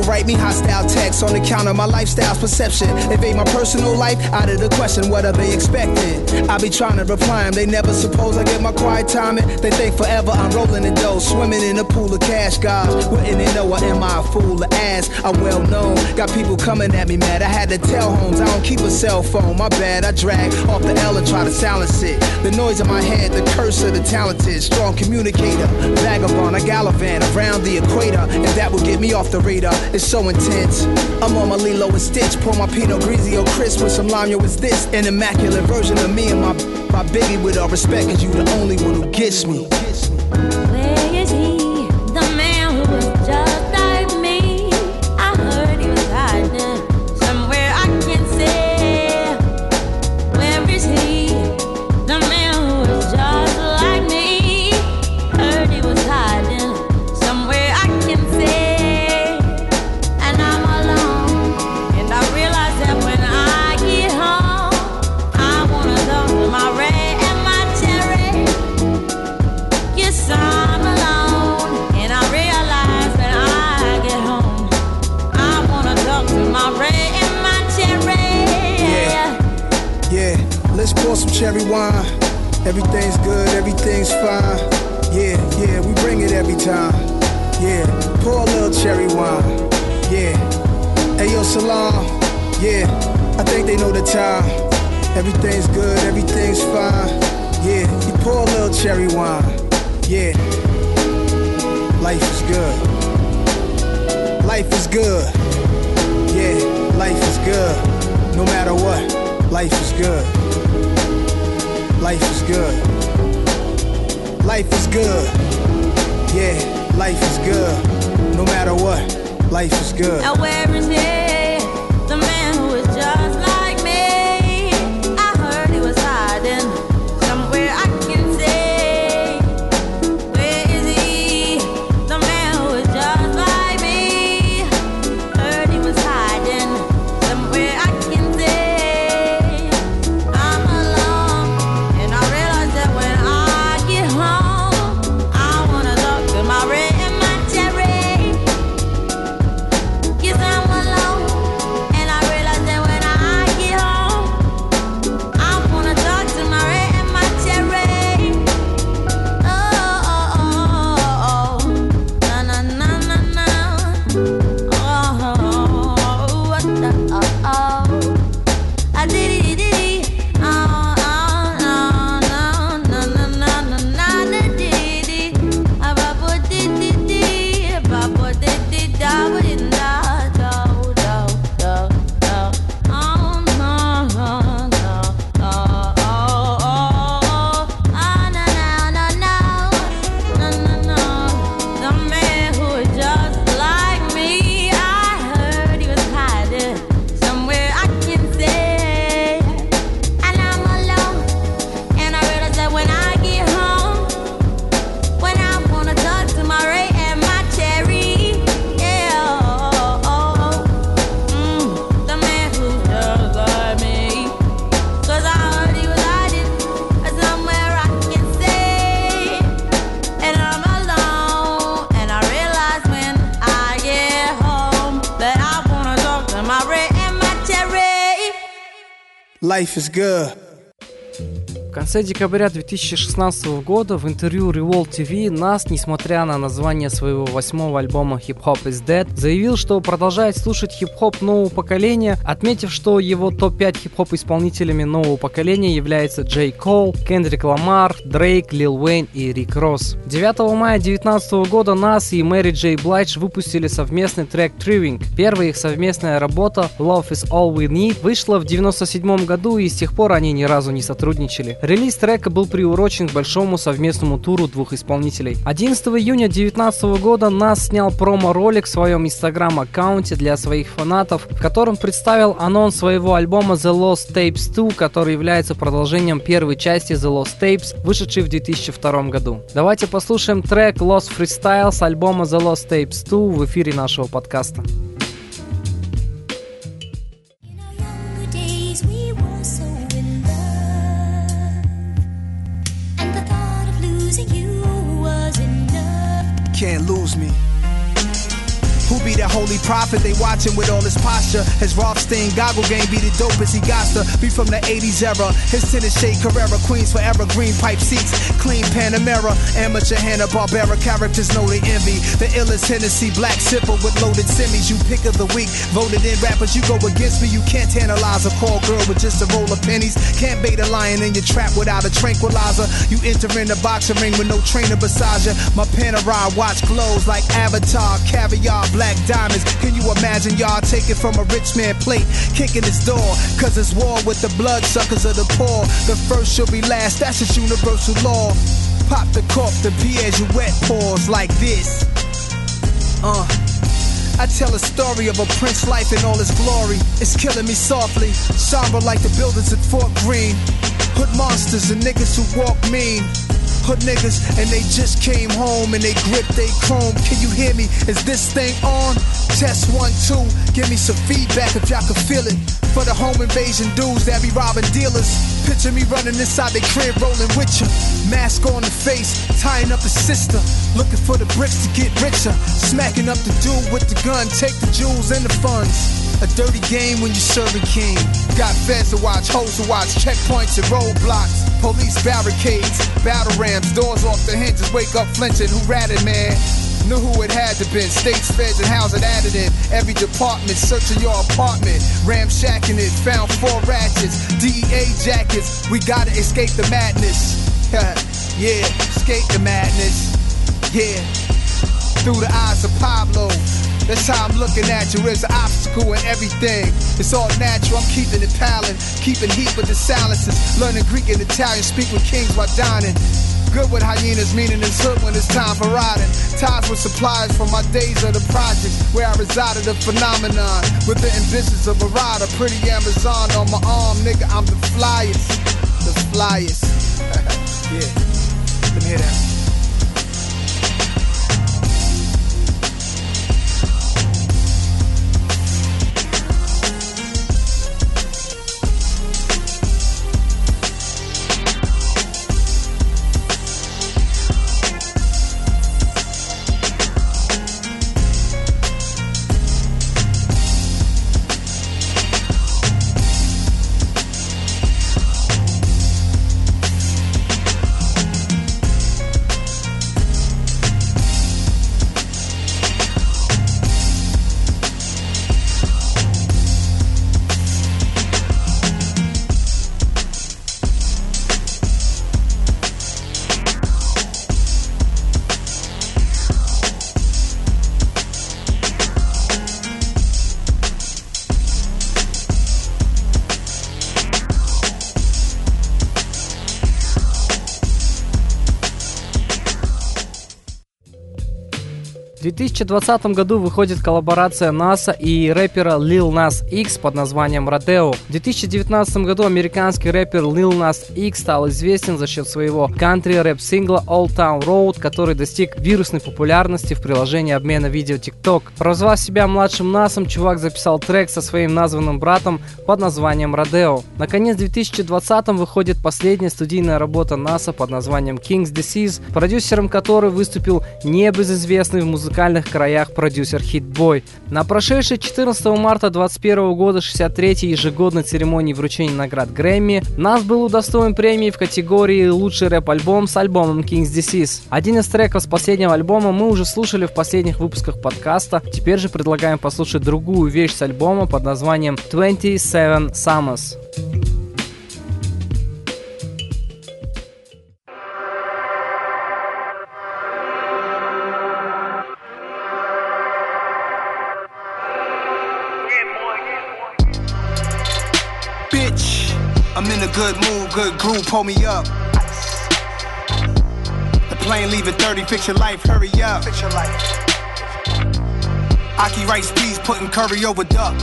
write me hostile texts on account of my lifestyle's perception. Invade my personal life out of the question, what are they expecting? I be trying to reply them, they never suppose I get my quiet time in. They think forever I'm rolling in dough, swimming in a pool of cash, guys. Wouldn't they know, or am I a fool to ask? I'm well known, got people coming at me mad. I had to tell Holmes I don't keep a cell phone, my bad. I drag off the L and try to silence it. The noise in my head, the curse of the talented. Strong communicator, vagabond, I gallivant around the equator, and that will get me off the radar. It's so intense. I'm on my Lilo and Stitch, pour my Pinot Grigio crisp with some lime. Yo, it's this an immaculate version of me and my my Biggie. With all respect, cause you the only one who gets me. Where is he, the man who was just like me? I heard he was hiding somewhere I can't say. Where is he, the man who was just like me? Heard he was hiding somewhere I can't say. And I'm alone, and I realize that when I get home, I wanna talk to my Ray and my Cherry. Yes, I'm alone, and I realize when I get home, I wanna talk to my Ray and my Cherry. Yeah, yeah, let's pour some cherry wine. Everything's good, everything's fine. Yeah, yeah, we bring it every time. Yeah, pour a little cherry wine. Yeah, hey yo, Salam. Yeah, I think they know the time. Everything's good, everything's fine. Yeah, you pour a little cherry wine. Yeah, life is good. Life is good. Yeah, life is good. No matter what, life is good. Life is good. Life is good. Yeah, life is good. No matter what, life is good. Now where is he, the man who is just like me? I heard he was hiding somewhere I can say. Where is he, the man who is just like me? Heard he was hiding somewhere I can say. I'm alone, and I realize that when I get home, I wanna talk to my Ray and my Cherry. Yes, I'm alone, and I realize that when I get home, I wanna talk to my Ray and my Cherry. Oh, oh, oh, oh, na na na na na. Oh, oh, oh, oh, oh. I did it, did it. Oh, oh, no, no, no, no, no, no, no, no, did it. I bought it, did it. I bought it, did it. I bought it, da, da, da, da, da. Oh, no, no, no. Oh, oh, oh, oh. Ah, no, no, no, no. No, no, no. The man who is just like me, I heard he was hiding somewhere I can say. And I'm alone, and I realize that when I get home, when I wanna talk to my Ray and my Cherry, yeah, oh, oh, oh, mm, the man who's just like me. 'Cause I heard he was hiding somewhere I can say. And I'm alone, and I realize when I get home that I wanna talk to my Ray and my Cherry. Life is good. В конце декабря две тысячи шестнадцатого года в интервью Revolt ти ви Nas, несмотря на название своего восьмого альбома Hip Hop is Dead, заявил, что продолжает слушать хип-хоп нового поколения, отметив, что его топ пять хип-хоп исполнителями нового поколения являются Джей Кол, Кендрик Ламар, Дрейк, Лил Уэйн и Рик Росс. девятого мая две тысячи девятнадцатого года Nas и Мэри Джей Блайдж выпустили совместный трек Thriving. Первая их совместная работа Love is All We Need вышла в девяносто седьмом году, и с тех пор они ни разу не сотрудничали. Релиз трека был приурочен к большому совместному туру двух исполнителей. одиннадцатого июня две тысячи девятнадцатого года Nas снял промо-ролик в своем инстаграм-аккаунте для своих фанатов, в котором представил анонс своего альбома The Lost Tapes два, который является продолжением первой части The Lost Tapes, вышедшей в две тысячи втором году. Давайте послушаем трек Lost Freestyle с альбома The Lost Tapes два в эфире нашего подкаста. Can't lose me. Who be the holy prophet? They watching with all his posture. His Rothstein goggle game be the dopest. He got to be from the eighties era. His tennis shade Carrera, Queens forever, green pipe seats, clean Panamera, amateur Hanna-Barbera characters know they envy. The illest Hennessy, black sipper with loaded semis. You pick of the week, voted in rappers. You go against me. You can't tantalize a call girl with just a roll of pennies. Can't bait a lion in your trap without a tranquilizer. You enter in the boxing ring with no trainer beside you. My Panerai watch glows like Avatar, caviar, black diamonds. Can you imagine y'all taking from a rich man plate, kicking his door? Cause it's war with the bloodsuckers of the poor. The first shall be last, that's just universal law. Pop the cork, the Piaget pause like this. Uh I tell a story of a Prince life in all its glory. It's killing me softly, somber like the buildings at Fort Greene. Hood monsters and niggas who walk mean. Hood niggas and they just came home and they grip they chrome. Can you hear me? Is this thing on? Test one, two. Give me some feedback if y'all can feel it. For the home invasion dudes that be robbing dealers. Picture me running inside their crib rolling with ya. Mask on the face, tying up his sister. Looking for the bricks to get richer. Smacking up the dude with the gun, take the jewels and the funds. A dirty game when you're serving king. Got feds to watch, hoes to watch, checkpoints and roadblocks. Police barricades, battle rams, doors off the hinges, wake up flinching, who ratted man? Knew who it had to been, states, feds, and house it added in. Every department, searching your apartment, ramshacking it, found four ratchets, D E A jackets, we gotta escape the madness. Yeah, escape the madness. Yeah, through the eyes of Pablo. That's how I'm looking at you, there's an obstacle in everything. It's all natural, I'm keeping it palin', keeping heat with the silences. Learning Greek and Italian, speak with kings while dining. Good with hyenas, meaning it's hood when it's time for riding. Ties with suppliers from my days of the projects, where I resided a phenomenon. With the ambitions of a rider, pretty Amazon on my arm, nigga, I'm the flyest. The flyest. Yeah, let me hear that. В две тысячи двадцатом году выходит коллаборация НАСА и рэпера Lil Nas X под названием Rodeo. В две тысячи девятнадцатом году американский рэпер Lil Nas X стал известен за счет своего кантри-рэп-сингла Old Town Road, который достиг вирусной популярности в приложении обмена видео TikTok. Прозвав себя младшим Насом, чувак записал трек со своим названным братом под названием Rodeo. Наконец, в две тысячи двадцатом выходит последняя студийная работа НАСА под названием King's Disease, продюсером которой выступил небезызвестный в музыкальных краях продюсер Hit Boy. На прошедшей четырнадцатого марта двадцать первого года шестьдесят третьей ежегодной церемонии вручения наград Грэмми Нас был удостоен премии в категории «Лучший рэп-альбом» с альбомом King's Disease. Один из треков с последнего альбома мы уже слушали в последних выпусках подкаста, теперь же предлагаем послушать другую вещь с альбома под названием двадцать семь Summers. I'm in a good mood, good groove, pull me up. The plane leaving thirty, fix your life, hurry up. Fix your life. Aki rice peas, putting curry over duck.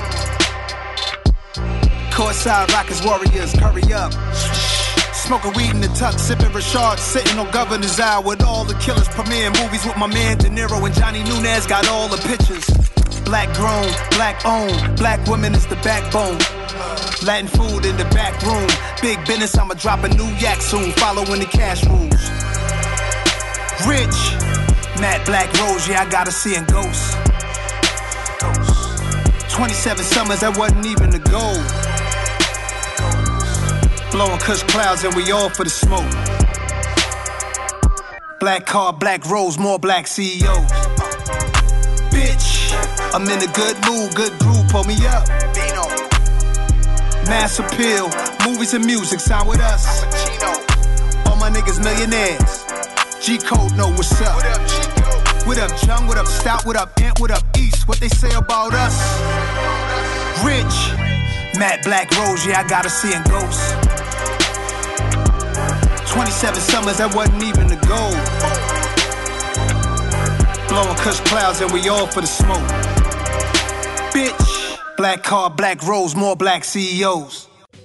Courtside Rockets Warriors, hurry up. Smoking weed in the tuck, sipping Rashard, sitting on Governor's Isle with all the killers. Premiering movies with my man De Niro and Johnny Nunez, got all the pictures. Black grown, black owned, black women is the backbone. Latin food in the back room. Big business, I'ma drop a new yak soon. Following the cash rules. Rich, Matte Black Rose, yeah, I gotta see in ghosts. twenty-seven summers, that wasn't even the goal. Blowing kush clouds and we all for the smoke. Black car, black rose, more black C E Os. Bitch, I'm in a good mood, good groove, pull me up. Mass appeal, movies and music, sign with us. All my niggas millionaires. G-Code know what's up. What up, G-Code? What up, Jung? What up, Stout? What up, Ant? What up, East? What they say about us? Rich, Matte Black Rose, yeah, I gotta see in ghosts. twenty-seven summers, that wasn't even the goal. Blowing kush clouds and we all for the smoke. Bitch, black car, black rose, more black C E Os.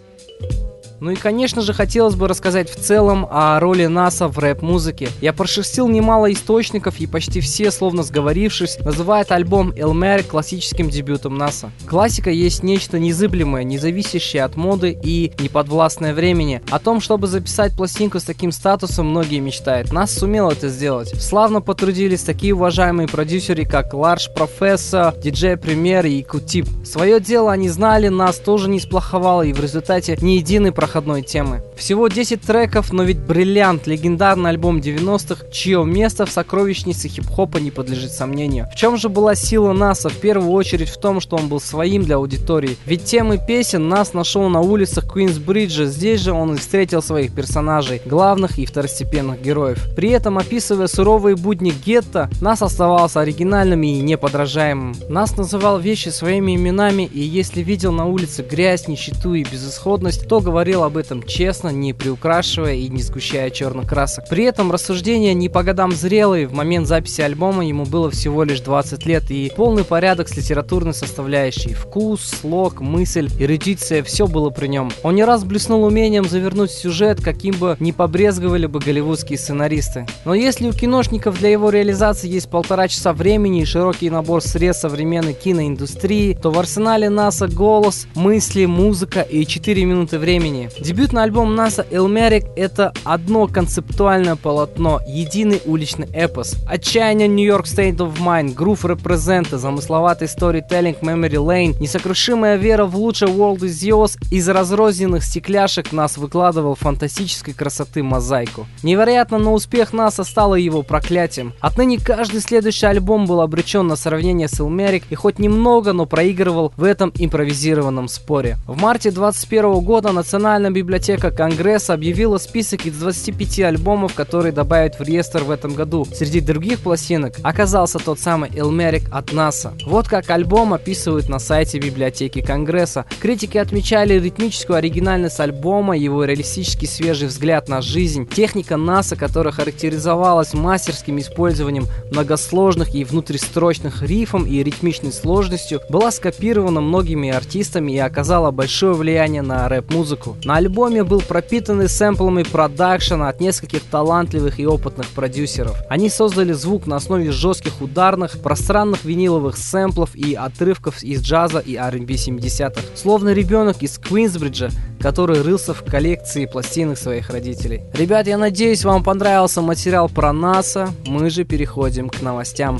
Ну и, конечно же, хотелось бы рассказать в целом о роли НАСА в рэп-музыке. Я прошерстил немало источников, и почти все, словно сговорившись, называют альбом Illmatic классическим дебютом НАСА. Классика есть нечто незыблемое, не зависящее от моды и неподвластное времени. О том, чтобы записать пластинку с таким статусом, многие мечтают. НАС сумел это сделать. Славно потрудились такие уважаемые продюсеры, как Large Professor, ди джей Premier и Q-Tip. Свое дело они знали, НАС тоже не сплоховал, и в результате ни единый проходной темы. Всего десять треков, но ведь бриллиант, легендарный альбом девяностых, чье место в сокровищнице хип-хопа не подлежит сомнению. В чем же была сила НАСа? В первую очередь в том, что он был своим для аудитории. Ведь темы песен НАС нашел на улицах Квинсбриджа, здесь же он и встретил своих персонажей, главных и второстепенных героев. При этом, описывая суровые будни гетто, НАС оставался оригинальным и неподражаемым. НАС называл вещи своими именами, и если видел на улице грязь, нищету и безысходность, то говорил об этом честно, не приукрашивая и не сгущая черных красок. При этом рассуждения не по годам зрелые, в момент записи альбома ему было всего лишь двадцать лет, и полный порядок с литературной составляющей. Вкус, слог, мысль, эрудиция, все было при нем. Он не раз блеснул умением завернуть сюжет, каким бы не побрезговали бы голливудские сценаристы. Но если у киношников для его реализации есть полтора часа времени и широкий набор средств современной киноиндустрии, то в арсенале НАСа голос, мысли, музыка и четыре минуты времени. Дебютный альбом НАСа Illmatic — это одно концептуальное полотно, единый уличный эпос. Отчаяние New York State of Mind, грув репрезента, замысловатый storytelling Memory Lane, несокрушимая вера в лучшее World is Yours. Из разрозненных стекляшек НАС выкладывал фантастической красоты мозаику. Невероятно, но успех НАСа стало его проклятием. Отныне каждый следующий альбом был обречен на сравнение с Illmatic и хоть немного, но проигрывал в этом импровизированном споре. В марте двадцать первого года Национальная библиотека Конгресса объявила список из двадцати пяти альбомов, которые добавят в реестр в этом году. Среди других пластинок оказался тот самый Illmatic от НАСа. Вот как альбом описывают на сайте библиотеки Конгресса. Критики отмечали ритмическую оригинальность альбома, его реалистический свежий взгляд на жизнь, техника НАСа, которая характеризовалась мастерским использованием многосложных и внутристрочных рифом и ритмичной сложностью, была скопирована многими артистами и оказала большое влияние на рэп-музыку. На альбоме был пропитанный сэмплами продакшена от нескольких талантливых и опытных продюсеров. Они создали звук на основе жестких ударных, пространных виниловых сэмплов и отрывков из джаза и ар энд би семидесятых. Словно ребенок из Квинсбриджа, который рылся в коллекции пластинок своих родителей. Ребят, я надеюсь, вам понравился материал про НАСа. Мы же переходим к новостям.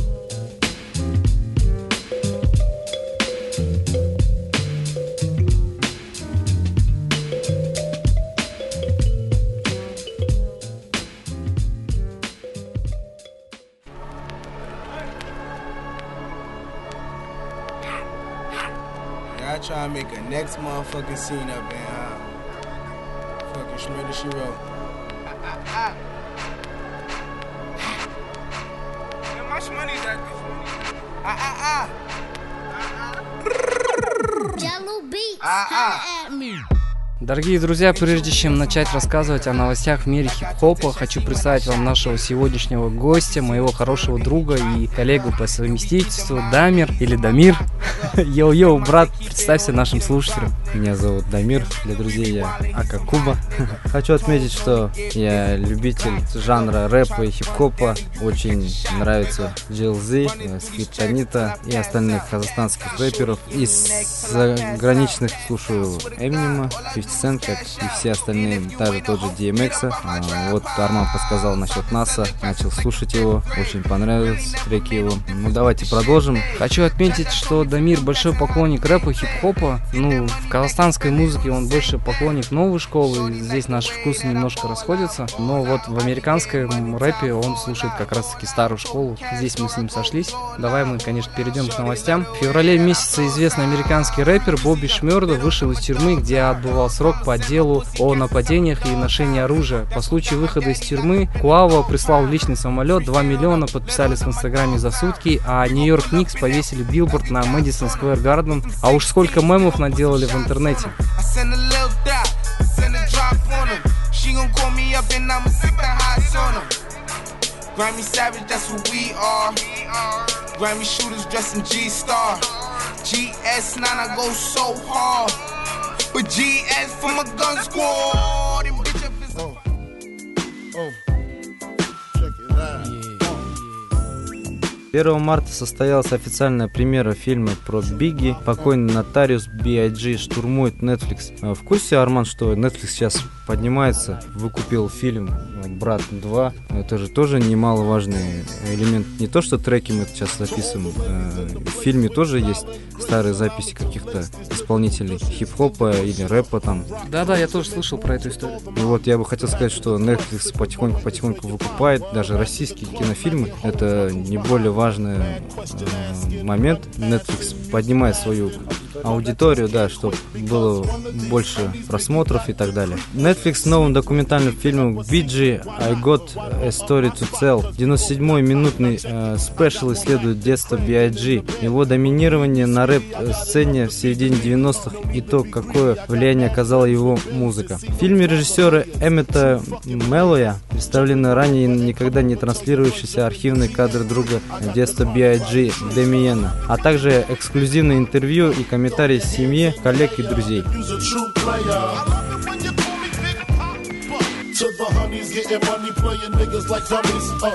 I try to make a next motherfucking scene up in uh, fucking Shredder She Wrote. Ah, ah, ah. How much money is that? Ah, ah, ah. Jello beats, Ah, ah. holla at me. Дорогие друзья, прежде чем начать рассказывать о новостях в мире хип-хопа, хочу представить вам нашего сегодняшнего гостя, моего хорошего друга и коллегу по совместительству Дамир или Дамир. Йоу-йоу, брат, представься нашим слушателям. Меня зовут Дамир, для друзей я Ака Куба. Хочу отметить, что я любитель жанра рэпа и хип-хопа. Очень нравится джей эл зет, Скриптонита и остальных казахстанских рэперов. Из заграничных слушаю Эминема, фифти Сен, как и все остальные, даже тот же ди эм экс. А, вот Арман подсказал насчет НАСА, начал слушать его, очень понравились треки его. Ну давайте продолжим. Хочу отметить, что Дамир большой поклонник рэпа, хип-хопа. Ну, в казахстанской музыке он больше поклонник новой школы, здесь наши вкусы немножко расходятся. Но вот в американском рэпе он слушает как раз-таки старую школу. Здесь мы с ним сошлись. Давай мы, конечно, перейдем к новостям. В феврале месяце известный американский рэпер Бобби Шмёрда вышел из тюрьмы, где отбывал срок по делу о нападениях и ношении оружия. По случаю выхода из тюрьмы Куава прислал личный самолет, два миллиона подписались в инстаграме за сутки, а Нью-Йорк Никс повесили билборд на Мэдисон Сквер Гарден. А уж сколько мемов наделали в интернете. Grammy Savage, that's what we are. Grammy shooters dressed in G-Star. G S nine, I go so hard. But G S from a gun squad. And bitch, if it's oh. Oh. Check it out. первого марта состоялась официальная премьера фильма про Бигги. Покойный нотариус би ай джи штурмует Netflix. В курсе, Арман, что Netflix сейчас поднимается, выкупил фильм «Брат два». Это же тоже немаловажный элемент. Не то, что треки мы сейчас записываем. В фильме тоже есть старые записи каких-то исполнителей хип-хопа или рэпа там. Да-да, я тоже слышал про эту историю. И вот я бы хотел сказать, что Netflix потихоньку-потихоньку выкупает даже российские кинофильмы. Это не более важный э, момент. Netflix поднимает свою аудиторию, да, чтобы было больше просмотров и так далее. Netflix с новым документальным фильмом би джи I Got a Story to Tell. девяносто седьмой минутный э, спешл исследует детство би ай джи, его доминирование на рэп-сцене в середине девяностых и то, какое влияние оказала его музыка. В фильме режиссера Эммета Мэллоя представлены ранее никогда не транслировавшиеся архивные кадры друга детства би ай джи Дэмиена, а также эксклюзивные интервью и комментарии семьи, коллег и друзей. To the honeys, getting money, playing niggas like dummies. Uh.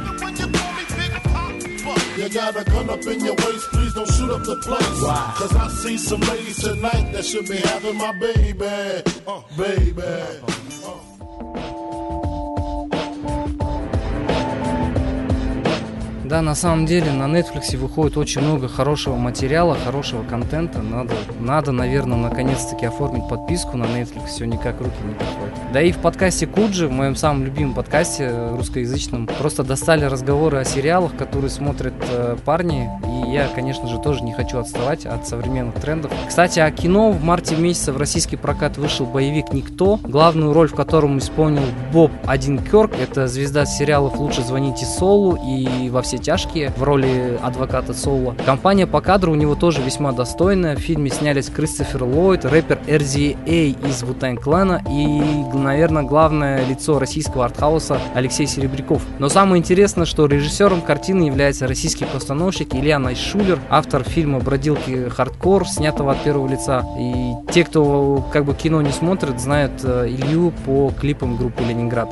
You got a gun up in your waist, please don't shoot up the place. Wow. Cause I see some ladies tonight that should be having my baby. Uh, baby. Uh. Да, на самом деле на Netflix выходит очень много хорошего материала, хорошего контента. Надо, надо, наверное, наконец-таки оформить подписку на Netflix, все никак руки не доходят. Да и в подкасте Куджи, в моем самом любимом подкасте русскоязычном, просто достали разговоры о сериалах, которые смотрят э, парни. И я, конечно же, тоже не хочу отставать от современных трендов. Кстати, о кино. В марте месяце в российский прокат вышел боевик «Никто», главную роль в котором исполнил Боб Одинкёрк. Это звезда сериалов «Лучше звоните Солу» и «Во все тяжкие» в роли адвоката Соло. Компания по кадру у него тоже весьма достойная. В фильме снялись Кристофер Ллойд, рэпер эр зет эй из Wu-Tang Clan и, наверное, главное лицо российского артхауса Алексей Серебряков. Но самое интересное, что режиссером картины является российский постановщик Илья Найшулер, автор фильма «Бродилки хардкор», снятого от первого лица. И те, кто как бы кино не смотрит, знают Илью по клипам группы «Ленинград».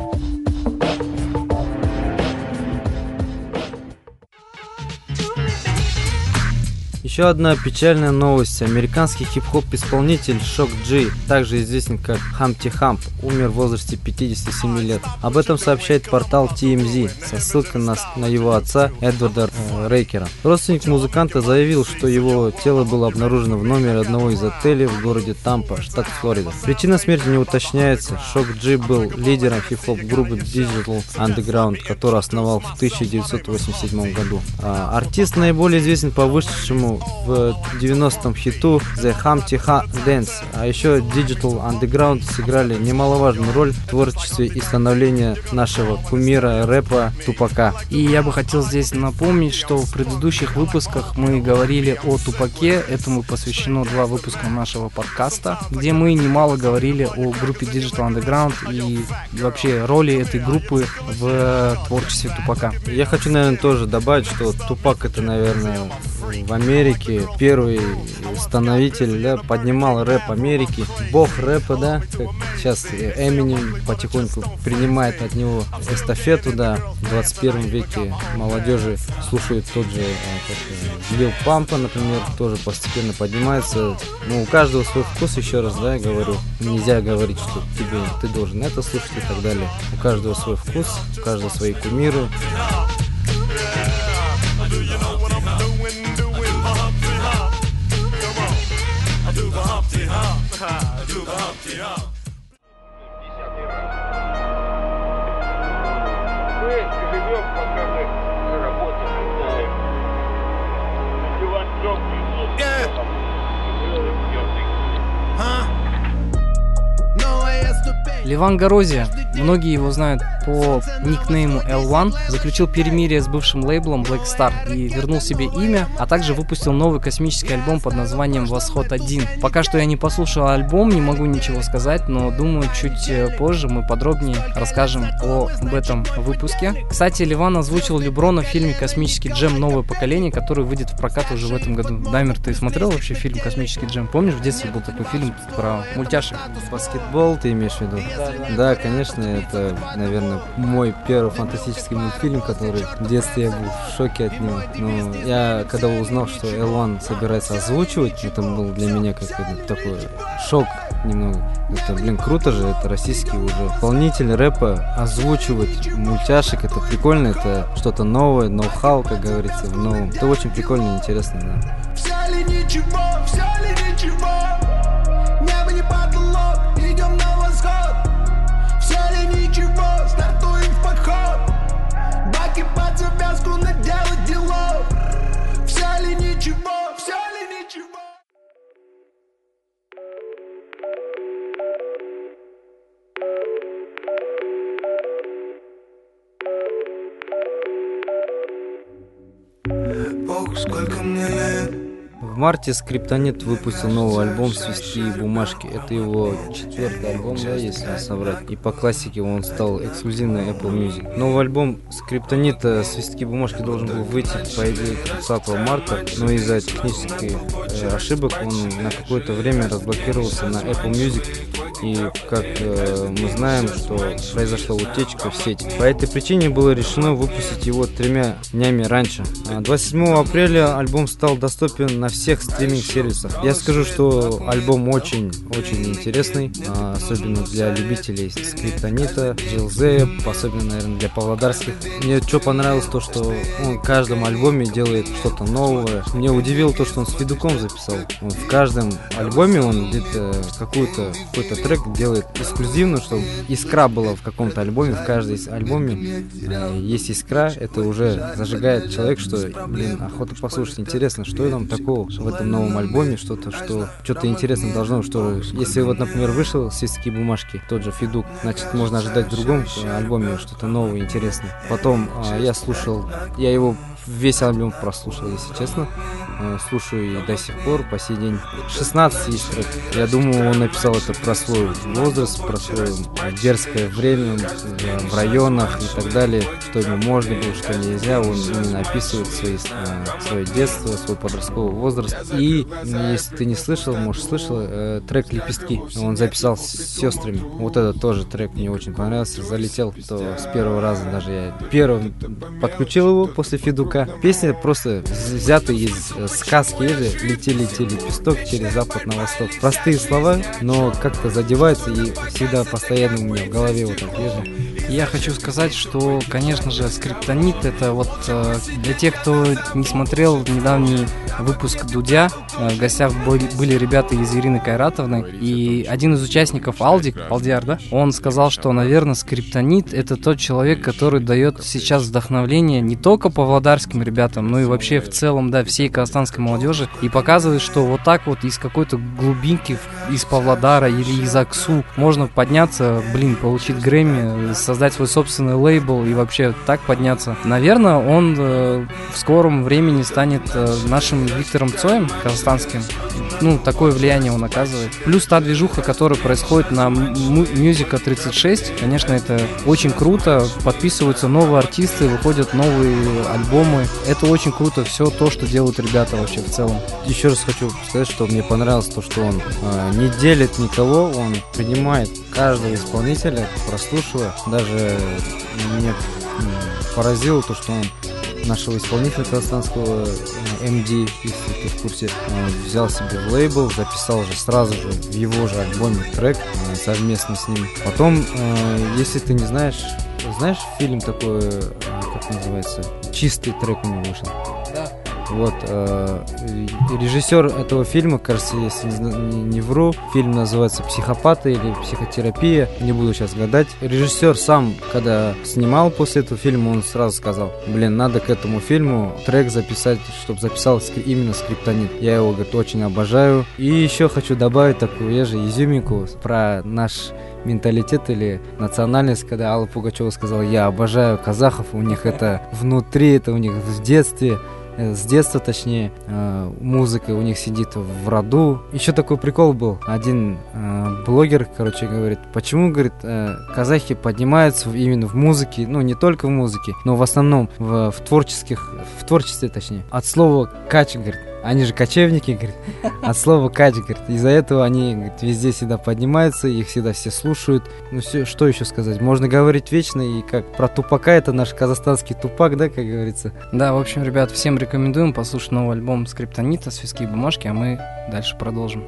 Еще одна печальная новость. Американский хип-хоп-исполнитель Шок Джи, также известен как Хамти Хамп, умер в возрасте пятидесяти семи лет. Об этом сообщает портал ти эм зет со ссылкой на, на его отца Эдварда э, Рейкера. Родственник музыканта заявил, что его тело было обнаружено в номере одного из отелей в городе Тампа, штат Флорида. Причина смерти не уточняется. Шок Джи был лидером хип-хоп группы Digital Underground, которую основал в тысяча девятьсот восемьдесят седьмом году. А, артист наиболее известен по вышедшему в девяностом хиту The Humpty Dance, а еще Digital Underground сыграли немаловажную роль в творчестве и становлении нашего кумира рэпа Тупака. И я бы хотел здесь напомнить, что в предыдущих выпусках мы говорили о Тупаке, этому посвящено два выпуска нашего подкаста, где мы немало говорили о группе Digital Underground и вообще роли этой группы в творчестве Тупака. Я хочу, наверное, тоже добавить, что Тупак — это, наверное, в Америке, первый становитель, да, поднимал рэп Америки, бог рэпа, да, как сейчас Эминем потихоньку принимает от него эстафету, да, в двадцать первом веке молодежи слушают тот же, как Лил Пампа, например, тоже постепенно поднимается. Ну, у каждого свой вкус, еще раз, да, я говорю, нельзя говорить, что тебе, ты должен это слушать и так далее. У каждого свой вкус, у каждого свои кумиры. Ливан Горозия, многие его знают по никнейму эл один, заключил перемирие с бывшим лейблом Black Star и вернул себе имя, а также выпустил новый космический альбом под названием «Восход один». Пока что я не послушал альбом, не могу ничего сказать, но думаю, чуть позже мы подробнее расскажем об этом выпуске. Кстати, Ливан озвучил Леброна в фильме «Космический джем. Новое поколение», который выйдет в прокат уже в этом году. Даймер, ты смотрел вообще фильм «Космический джем»? Помнишь, в детстве был такой фильм про мультяшек? Баскетбол ты имеешь в виду? Да, да. Да, конечно, это, наверное, мой первый фантастический мультфильм, который в детстве я был в шоке от него. Но я, когда узнал, что эл один собирается озвучивать, это был для меня какой-то такой шок немного. Это, блин, круто же, это российский уже исполнитель рэпа, озвучивать мультяшек, это прикольно, это что-то новое, ноу-хау, как говорится, в новом. Это очень прикольно и интересно, да. Взяли ничего, взяли ничего, небо не потолок, идем на восход. Взяли ничего, стартуем в подход, баки под завязку наделать делов. Взяли ничего, взяли ничего. Бог, сколько мне лет. В марте Скриптонит выпустил новый альбом «Свистки и бумажки». Это его четвертый альбом, да, если не соврать. И по классике он стал эксклюзивной Apple Music. Новый альбом Скриптонита «Свистки и бумажки» должен был выйти, по идее, тридцатого марта, но из-за технических э, ошибок он на какое-то время разблокировался на Apple Music. И, как э, мы знаем, что произошла утечка в сеть. По этой причине было решено выпустить его тремя днями раньше. двадцать седьмого апреля альбом стал доступен на всех стриминг-сервисах. Я скажу, что альбом очень-очень интересный, особенно для любителей Скриптонита, Джилзея, особенно, наверное, для павлодарских. Мне что понравилось, то, что он в каждом альбоме делает что-то новое. Мне удивило то, что он с Федуком записал. Он в каждом альбоме он где-то какую-то, какой-то трек делает эксклюзивно, чтобы искра была в каком-то альбоме. В каждом альбоме есть искра, это уже зажигает человек, что, блин, охота послушать, интересно, что там такого в этом новом альбоме, что-то, что что-то интересное должно, что если вот, например, вышел «Свистки и бумажки», тот же Федук, значит, можно ожидать в другом альбоме что-то новое, интересное. Потом э, я слушал, я его весь альбом прослушал, если честно. Э, слушаю и до сих пор, по сей день. шестнадцать есть трек. Я думаю, он написал это про свой возраст, про свое дерзкое время в районах и так далее, что ему можно было, что нельзя. Он именно описывает свои, э, свое детство, свой подростковый возраст. И, если ты не слышал, может, слышал, э, трек «Лепестки». Он записал с сестрами. Вот этот тоже трек мне очень понравился. Залетел, то с первого раза даже я первым подключил его после Федука. Песня просто взята из сказки или «Лети-лети лепесток через запад на восток». Простые слова, но как-то задеваются и всегда постоянно у меня в голове вот так лежит. Я хочу сказать, что, конечно же, Скриптонит — это вот э, для тех, кто не смотрел недавний выпуск Дудя, э, в гостях были, были ребята из Ирины Кайратовны, и один из участников, Алдик, Алдиар, да, он сказал, что, наверное, Скриптонит — это тот человек, который дает сейчас вдохновление не только павлодарским ребятам, но и вообще в целом, да, всей казахстанской молодежи, и показывает, что вот так вот из какой-то глубинки, из Павлодара или из Аксу можно подняться, блин, получить Грэмми, создать создать свой собственный лейбл и вообще так подняться. Наверное, он э, в скором времени станет э, нашим Виктором Цоем казахстанским. Ну, такое влияние он оказывает. Плюс та движуха, которая происходит на Мьюзика тридцать шесть, конечно, это очень круто. Подписываются новые артисты, выходят новые альбомы. Это очень круто, все то, что делают ребята вообще в целом. Еще раз хочу сказать, что мне понравилось то, что он э, не делит никого, он принимает каждого исполнителя, прослушивая. Даже меня поразило то, что он нашего исполнителя казахстанского эм ди, если ты в курсе, взял себе в лейбл, записал же сразу же в его же альбоме трек совместно с ним. Потом, если ты не знаешь, знаешь фильм такой, как называется, «Чистый» трек у него вышел? Да. Вот, э, режиссер этого фильма, кажется, если не, не вру, фильм называется «Психопаты» или «Психотерапия», не буду сейчас гадать. Режиссер сам, когда снимал после этого фильма, он сразу сказал: блин, надо к этому фильму трек записать, чтобы записал именно «Скриптонит». Я его, говорит, очень обожаю. И еще хочу добавить такую, я же изюминку про наш менталитет или национальность, когда Алла Пугачева сказала: я обожаю казахов, у них это внутри, это у них в детстве. С детства, точнее, музыка у них сидит в роду. Еще такой прикол был. Один э, блогер, короче, говорит, почему, говорит, э, казахи поднимаются именно в музыке, ну, не только в музыке, но в основном в, в творческих, в творчестве, точнее. От слова «кач», говорит, они же кочевники, говорит, от слова «кач», говорит, из-за этого они, говорит, везде всегда поднимаются, их всегда все слушают. Ну, все, что еще сказать? Можно говорить вечно, и как про Тупака, это наш казахстанский Тупак, да, как говорится? Да, в общем, ребят, всем рекомендуем послушать новый альбом «Скриптонита», «Свистки и бумажки», а мы дальше продолжим.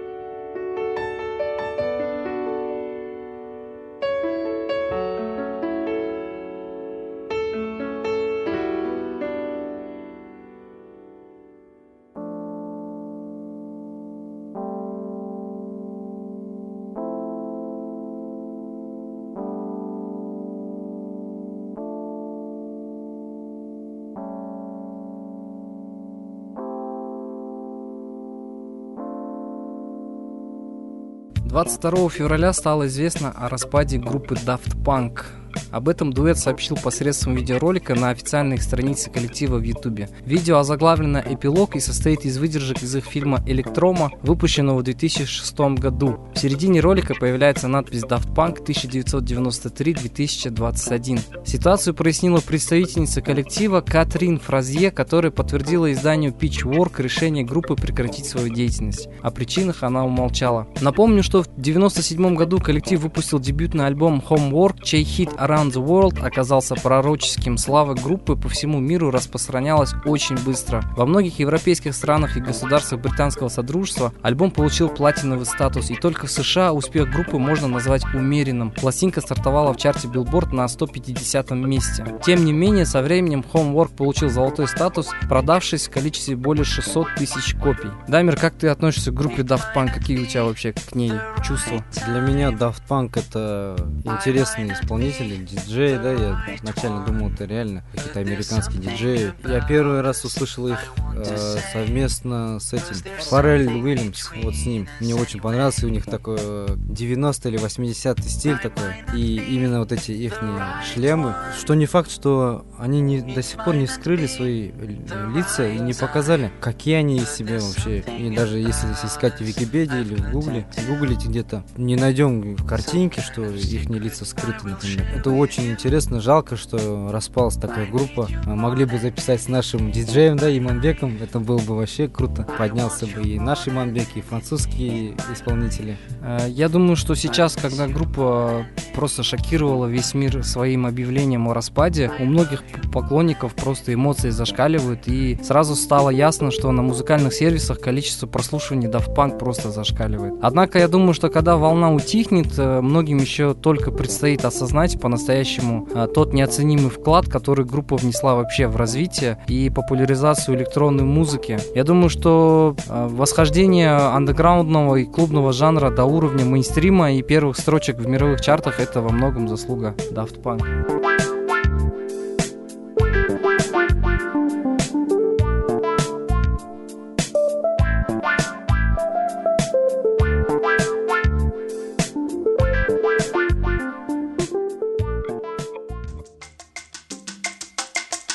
двадцать второго февраля стало известно о распаде группы Daft Punk. Об этом дуэт сообщил посредством видеоролика на официальной странице коллектива в Ютубе. Видео озаглавлено «Эпилог» и состоит из выдержек из их фильма «Электрома», выпущенного в две тысячи шестом году. В середине ролика появляется надпись «Daft Punk тысяча девятьсот девяносто три - две тысячи двадцать один». Ситуацию прояснила представительница коллектива Катрин Фразье, которая подтвердила изданию Pitchfork решение группы прекратить свою деятельность. О причинах она умолчала. Напомню, что в девяносто седьмом году коллектив выпустил дебютный альбом Homework, чей хит Around the World оказался пророческим. Слава группы по всему миру распространялась очень быстро. Во многих европейских странах и государствах британского содружества альбом получил платиновый статус, и только в США успех группы можно назвать умеренным. Пластинка стартовала в чарте Billboard на сто пятидесятом месте. Тем не менее, со временем Homework получил золотой статус, продавшись в количестве более шестисот тысяч копий. Дамир, как ты относишься к группе Daft Punk? Какие у тебя вообще к ней чувства? Для меня Daft Punk это интересные исполнители, диджеи, да, я изначально думал, это реально какие-то американские диджеи. Я первый раз услышал их э, совместно с этим Фаррелл Уильямс, вот с ним. Мне очень понравился, у них такой девяностый или восьмидесятый стиль такой, и именно вот эти их шлемы, что не факт, что они не, до сих пор не вскрыли свои лица и не показали, какие они из себя вообще. И даже если искать в Википедии или в Гугле, гуглите где-то, не найдем картинки, что их лица скрыты, например. Это очень интересно, жалко, что распалась такая группа. Могли бы записать с нашим диджеем, да, Иманбеком, это было бы вообще круто. Поднялся бы и наш Иманбек, и французские исполнители. Я думаю, что сейчас, когда группа просто шокировала весь мир своим объявлением о распаде, у многих поклонников просто эмоции зашкаливают, и сразу стало ясно, что на музыкальных сервисах количество прослушиваний Daft Punk просто зашкаливает. Однако я думаю, что когда волна утихнет, многим еще только предстоит осознать по-настоящему тот неоценимый вклад, который группа внесла вообще в развитие и популяризацию электронной музыки. Я думаю, что восхождение андеграундного и клубного жанра до уровня мейнстрима и первых строчек в мировых чартах — это во многом заслуга Daft Punk.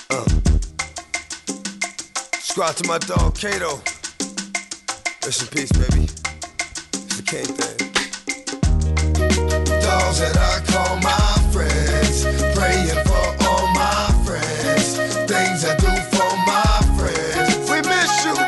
Uh. Subscribe to my dog Kato. Rest in peace, baby. It's the king thing. Dogs that I call my friends, praying for all my friends, things I do for my friends. We miss you.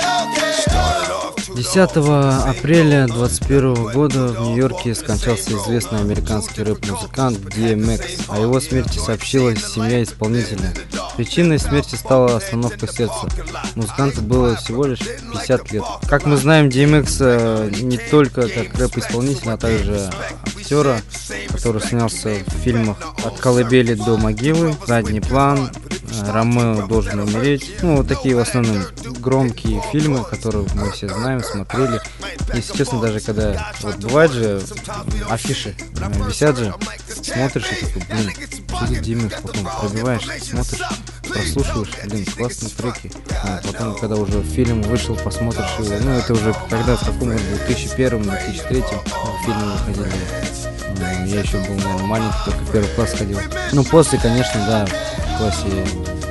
десятого апреля двадцать первого года в Нью-Йорке скончался известный американский рэп-музыкант ди эм экс. О его смерти сообщила семья исполнителя. Причиной смерти стала остановка сердца. Музыканту было всего лишь пятьдесят лет. Как мы знаем, ди эм экс не только как рэп-исполнитель, а также актера, который снялся в фильмах «От колыбели до могилы», «Задний план», «Ромео должен умереть». Ну, вот такие в основном громкие фильмы, которые мы все знаем, смотрели. Если честно, даже когда вот бывает же афиши висят же, смотришь и такой, блин, что за ди эм экс, потом пробиваешь, смотришь, прослушиваешь, блин, классные треки. А потом, когда уже фильм вышел, посмотришь его, ну это уже когда, в каком году, в две тысячи первом, две тысячи третьем фильмы выходили. Я еще был, наверное, маленький, только первый класс ходил. Ну, после, конечно, да, в классе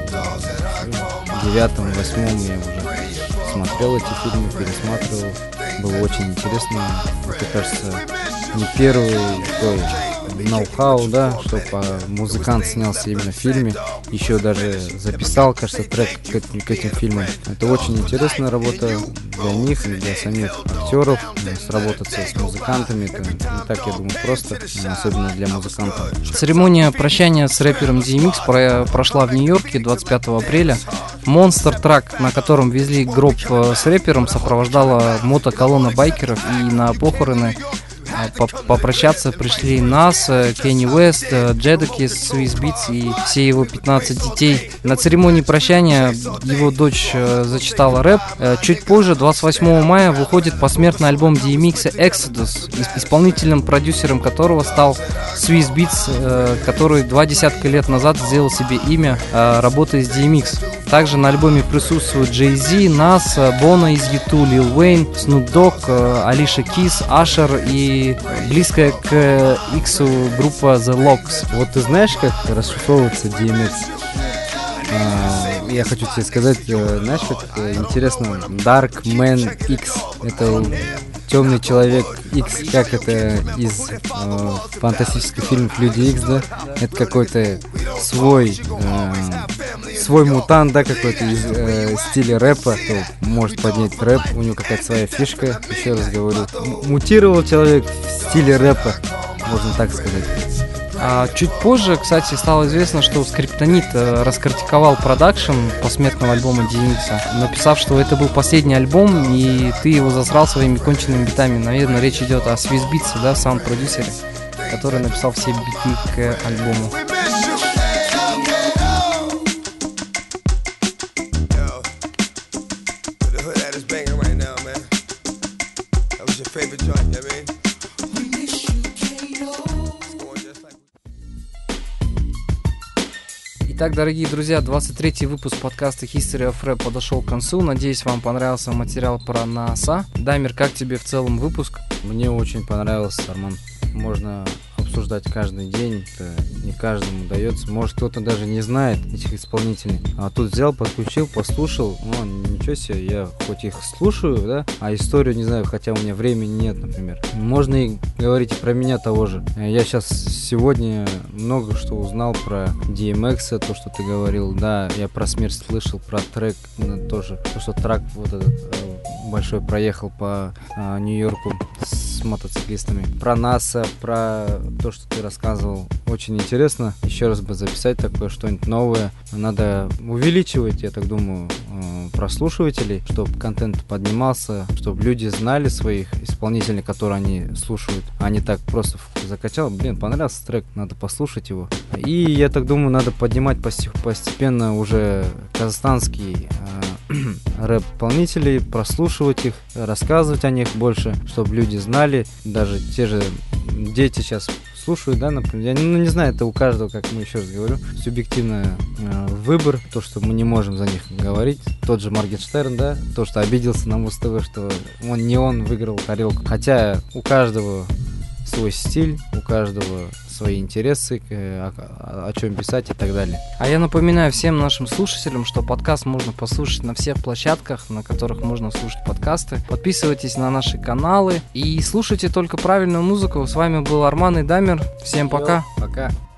девятом, восьмом я уже смотрел эти фильмы, пересматривал. Было очень интересно. Это, кажется, не первый такой ноу-хау, да, что музыкант снялся именно в фильме. Еще даже записал, кажется, трек к этим, к этим фильмам. Это очень интересная работа для них, для самих актеров. Сработаться с музыкантами, это не так, я думаю, просто, особенно для музыкантов. Церемония прощания с рэпером ди эм экс про- прошла в Нью-Йорке двадцать пятого апреля. Монстр трак, на котором везли гроб с рэпером, сопровождала мотоколонна байкеров, и на похороны попрощаться пришли Нас, Кенни Уэст, Джедакис, Swizz Beatz и все его пятнадцать детей. На церемонии прощания его дочь зачитала рэп. Чуть позже, двадцать восьмого мая, выходит посмертный альбом ди эм экс Exodus, исполнительным продюсером которого стал Swizz Beatz, который два десятка лет назад сделал себе имя, работая с ди эм экс. Также на альбоме присутствуют Jay-Z, Nas, Bono из ю ту, Lil Wayne, Snoop Dogg, Alicia Keys, Usher и близкая к Иксу группа The Lox. Вот ты знаешь, как расшифровывается ди эм экс? А, я хочу тебе сказать, знаешь, как интересно, Dark Man X. Это темный человек X, как это из э, фантастических фильмов Люди Икс, да? Это какой-то свой э, свой мутант, да, какой-то из э, стиля рэпа, кто может поднять рэп, у него какая-то своя фишка, еще раз говорю. М- мутировал человек в стиле рэпа, можно так сказать. А чуть позже, кстати, стало известно, что Скриптонит э, раскритиковал продакшн посмертного альбома ди эм экс, написав, что это был последний альбом, и ты его засрал своими конченными битами. Наверное, речь идет о Swizz Beatz, да, саунд-продюсере, который написал все биты к альбому. Итак, дорогие друзья, двадцать третий выпуск подкаста History of Rap подошел к концу. Надеюсь, вам понравился материал про НАСА. Дамир, как тебе в целом выпуск? Мне очень понравился, Арман. Можно обсуждать каждый день, это не каждому удается. Может, кто-то даже не знает этих исполнителей. А тут взял, подключил, послушал. О, ничего себе, я хоть их слушаю, да, а историю не знаю, хотя у меня времени нет, например. Можно и говорить про меня того же. Я сейчас сегодня много что узнал про ди эм экс, то, что ты говорил. Да, я про смерть слышал, про трек тоже. То, что трак вот этот большой проехал по а, Нью-Йорку с мотоциклистами. Про НАСА, про то, что ты рассказывал. Очень интересно. Еще раз бы записать такое что-нибудь новое. Надо увеличивать, я так думаю, прослушивателей, чтобы контент поднимался, чтобы люди знали своих исполнителей, которые они слушают, а не так просто закачал. Блин, понравился трек, надо послушать его. И я так думаю, надо поднимать постепенно уже казахстанский рэп-исполнителей, прослушивать их, рассказывать о них больше, чтобы люди знали. Даже те же дети сейчас слушают, да, например. Я ну, не знаю, это у каждого, как мы еще раз говорю, субъективный э, выбор, то, что мы не можем за них говорить. Тот же Моргенштерн, да, то, что обиделся на Муз-ТВ, что он не он выиграл тарелку. Хотя у каждого свой стиль, у каждого свои интересы, о, о, о чем писать и так далее. А я напоминаю всем нашим слушателям, что подкаст можно послушать на всех площадках, на которых можно слушать подкасты. Подписывайтесь на наши каналы и слушайте только правильную музыку. С вами был Арман и Дамир. Всем пока. Пока.